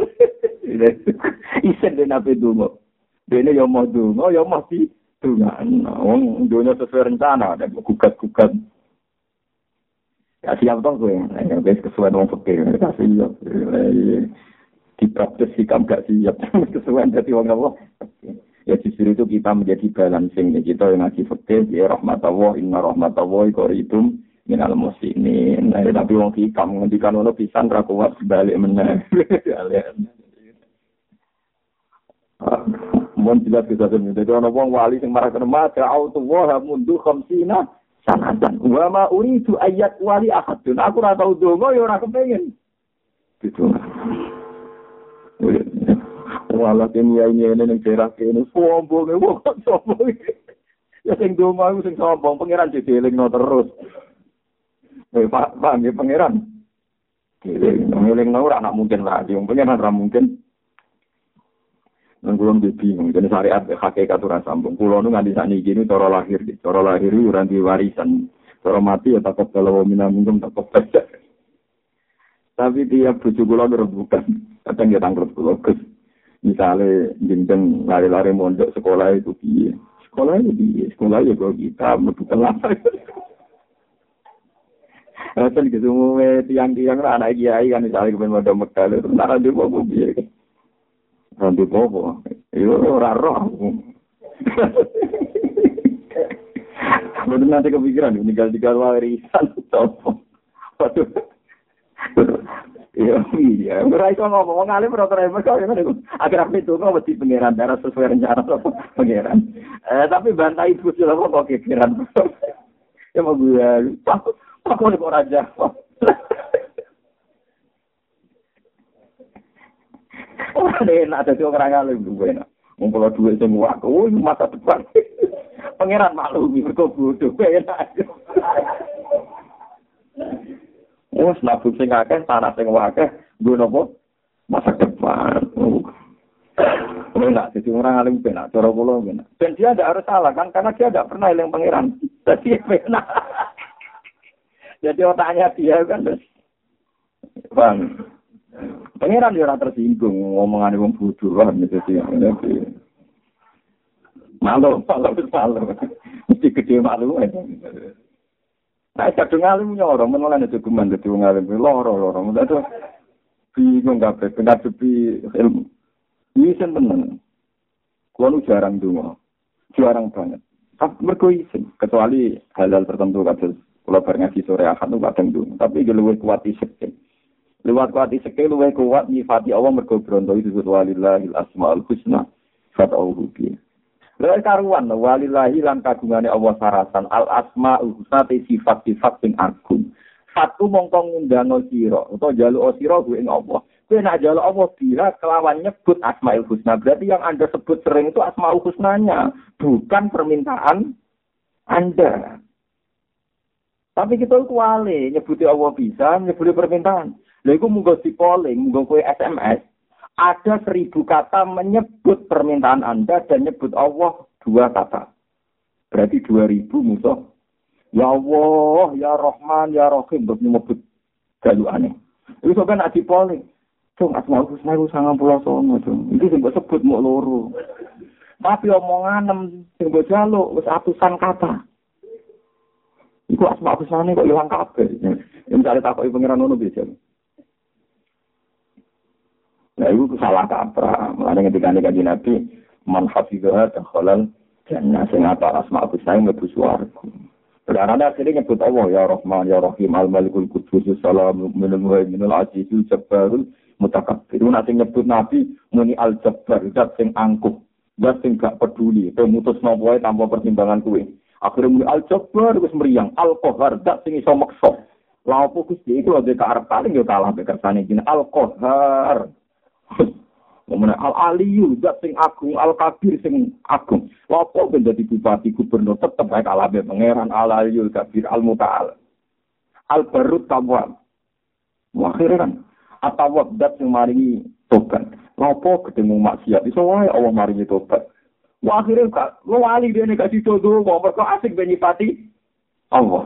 Isen den ape dungo. Dene yo mau dungo, yo mesti dongakno. Wong dunya sesuai rencana, ada gugat-gugat. Ya siap dong kowe. Nek wis kesuwen wong fikir. Kasih yo. Dipraktis sikap gak siap kesuwen dadi wong Allah. Ya justru itu kita menjadi balancing kita yang ngaji fikih ya rahmatullah inna rahmatullah qaribum minal muslimin. Nah, tapi wong hikam ngendikan ngono pisan ra kuat balik meneh. Mun jelas kita dene dadi ana wong wali sing marah kena mata autu wa mundu khamsina sanatan. Wa ma uridu ayat wali ahadun. Aku ora tau donga ya ora kepengin. Gitu. Wala kene ini ning daerah kene sombong e wong sombong. Ya sing donga iku sing sombong pangeran didelingno terus. Eh Pak, Pak nggih pangeran. Dilingno ora nak mungkin lah, wong pangeran ora mungkin. Nang kula bingung, dene syariat hakikat ora sambung. Kula nu nganti sakniki niku cara lahir, cara lahir ora duwe warisan. Cara mati ya takut kalau minamungkum takut saja. Tapi tiap bojo kula bukan. Kadang ya tangkrut kula, Gus. Misale jeneng lari-lari mondok sekolah itu piye? Sekolah itu piye? Sekolah ya kok kita mlebu kelas. Akan gitu muwe tiang-tiang ra anak kiai kan misale kepen mondok Mekah terus nara ndek opo piye? Ndek opo? Yo ora roh. Bener nanti kepikiran tinggal-tinggal warisan opo. Waduh. Iya, iya. Ora iso ngomong ngalim ora keren mergo ngono. Akhir apa itu kok mesti pangeran darah sesuai rencana pangeran. Eh tapi bantai ibu sila kok kekiran. Ya mau gue takut takut kok raja. Ora enak dadi orang ngalim gue enak. Ngumpul duit sing wae, oh masa depan. Pangeran maklum mergo bodoh enak. Wes nabung sing akeh, tanah sing akeh, nggo napa? Masa depan. Enak, jadi orang alim benar, cara kula benar. Dan dia tidak harus salah kan, karena dia tidak pernah eling pangeran. Jadi benar. Jadi otaknya dia kan terus, bang, pangeran dia ora tersinggung ngomongane wong bodoh kan gitu sih. Malu, malu, malu. Mesti gede malu. Nah, kadang ngalim nyorong, menulan itu geman, itu ngalim, loro-loro, itu bingung kabeh, benar sepi ilmu. Ini isen tenan. Kulo jarang donga. Jarang banget. Tapi mergo isen, kecuali hal-hal tertentu kados kula bar ngaji sore ahad nu kadang donga, tapi iki luwih kuat isek. Luwih kuat isek luwih kuat nyifati Allah mergo bronto itu walillahil asmaul husna fad'uhu bi. Lha karuan walillahi lan kagungane Allah sarasan al asmaul husna te sifat-sifat sing agung. Satu mongko ngundang sira utawa njaluk sira kuwi ing Allah. Kowe nek njaluk Allah bila kelawan nyebut asmaul husna, berarti yang Anda sebut sering itu asmaul husnanya, bukan permintaan Anda. Tapi kita itu wale nyebuti Allah bisa, nyebuti permintaan. Lha iku munggo dipoling, munggo kowe S M S. Ada seribu kata menyebut permintaan Anda dan nyebut Allah dua kata. Berarti dua ribu musuh. Ya Allah, ya Rahman, ya Rahim, untuk menyebut jalukane. Itu sampai nak dipoling. Cung, asmaul husna itu sangat pulau songo, cung. Itu sebut sebut mau loro. Tapi omongan sing mbok jaluk wis atusan kata. Iku asma husnane kok ilang kabeh. Ya misale takoki pangeran ngono bisa. Nah, itu salah kaprah. Mulane ketika Kanjeng Nabi man hafizha dakhalal jannah sing apa asma husnane mlebu swarga. Karena akhirnya nyebut Allah ya Rahman ya Rahim al-Malikul Qudus salam minal muhaiminul azizul jabbarul mutakabbir. Nanti nyebut Nabi muni al-Jabbar zat sing angkuh, zat sing gak peduli, pemutus nopo wae tanpa pertimbangan kuwi. Akhirnya muni al-Jabbar wis mriyang, al-Qahhar zat sing iso meksa. Lha opo Gusti iku lho karep paling yo kalah kersane jeneng al-Qahhar. Ngomong al-Aliyu zat sing agung, al-Kabir sing agung. Lapo ben dadi bupati gubernur tetep bae kalah be pangeran al-Aliyul Kabir al-Muta'al. Al-Barut Tawwab. Akhire kan atawab zat sing maringi tobat. Lapo ketemu maksiat iso wae Allah maringi tobat. Wah akhire kak lo wali dene gak didodo wong mergo asik ben nyipati Allah.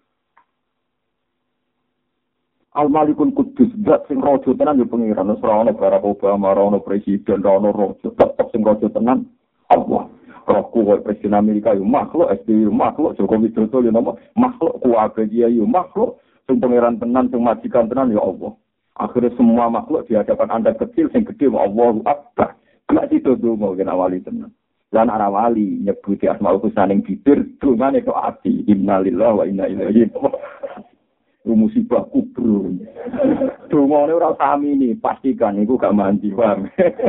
Al-Malikul Qudus, zat sing raja tenan yo pengiran, ora ana Barack Obama, ora ana presiden, ora ana raja, tetep sing raja tenan Allah. Rohku kok presiden Amerika yo makhluk, S B Y yo makhluk, Jokowi Widodo yo nama makhluk, kuwabe dia yo makhluk, sing pengiran tenan, sing majikan tenan yo Allah. Akhirnya semua makhluk di hadapan Anda kecil, sing gede Allahu Akbar. Gak dituduh mau kena wali tenan. Lan ana wali nyebuti asmaul husna ning bibir, dungane kok ati. Innalillahi wa inna ilaihi raji'un. Musibah kubur. Dungane ora sami ni, pastikan iku gak mandi, paham.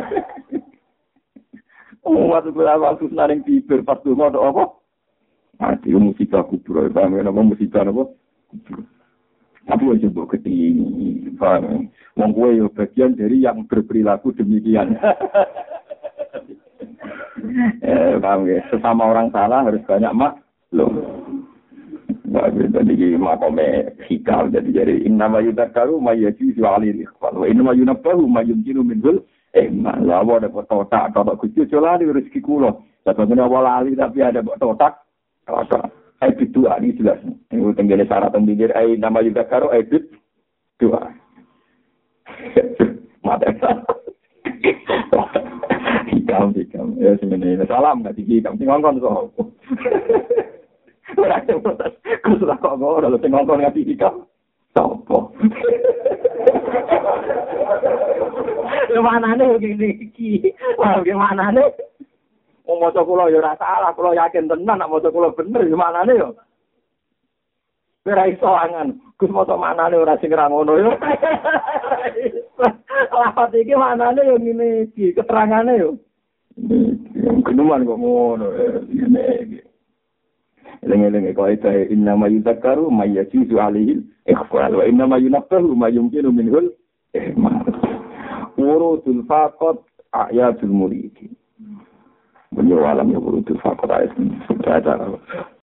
Oh, waktu kula waktu naring bibir pas donga apa? Mati musibah kubur, paham ya, apa musibah apa? Tapi wajib mbok ketini, paham. Wong kowe yo bagian dari yang berperilaku demikian. Eh, paham ya, sesama orang salah harus banyak maklum. Nah, jadi makome hikal jadi jadi innama yudakaru mayyati alil ikhwan wa innama yunabbahu mayyumkinu minhul eh malah ada otak otak kecil celali rezeki kula tapi awal ali tapi ada otak otak ai itu ali jelas itu tenggene syarat tenggene ai nama yudakaru ai itu dua mata hikam hikam ya sebenarnya salam enggak dihikam sing ngongkon kok. Ora ada protes. Kuwi kok ora lho sing ngomong ngati iki kok. Sopo? Lha manane ngene iki. Wah, manane. Wong maca kula ya ora salah, kula yakin tenan nek maca kula bener ya manane yo. Ora iso angan. Gus maca manane ora sing ra ngono yo. Lafat iki manane yo ngene iki, keterangane yo. Kenuman kok ngono. Ngene iki. Lengi-lengi kaidah innama yudakaru mayyajizu alihil ikhfal wa innama yunabbahu mayyumkinu minhul ihmal. Urudul faqat ayatul muridi. Beliau alam ya urudul faqat ayat.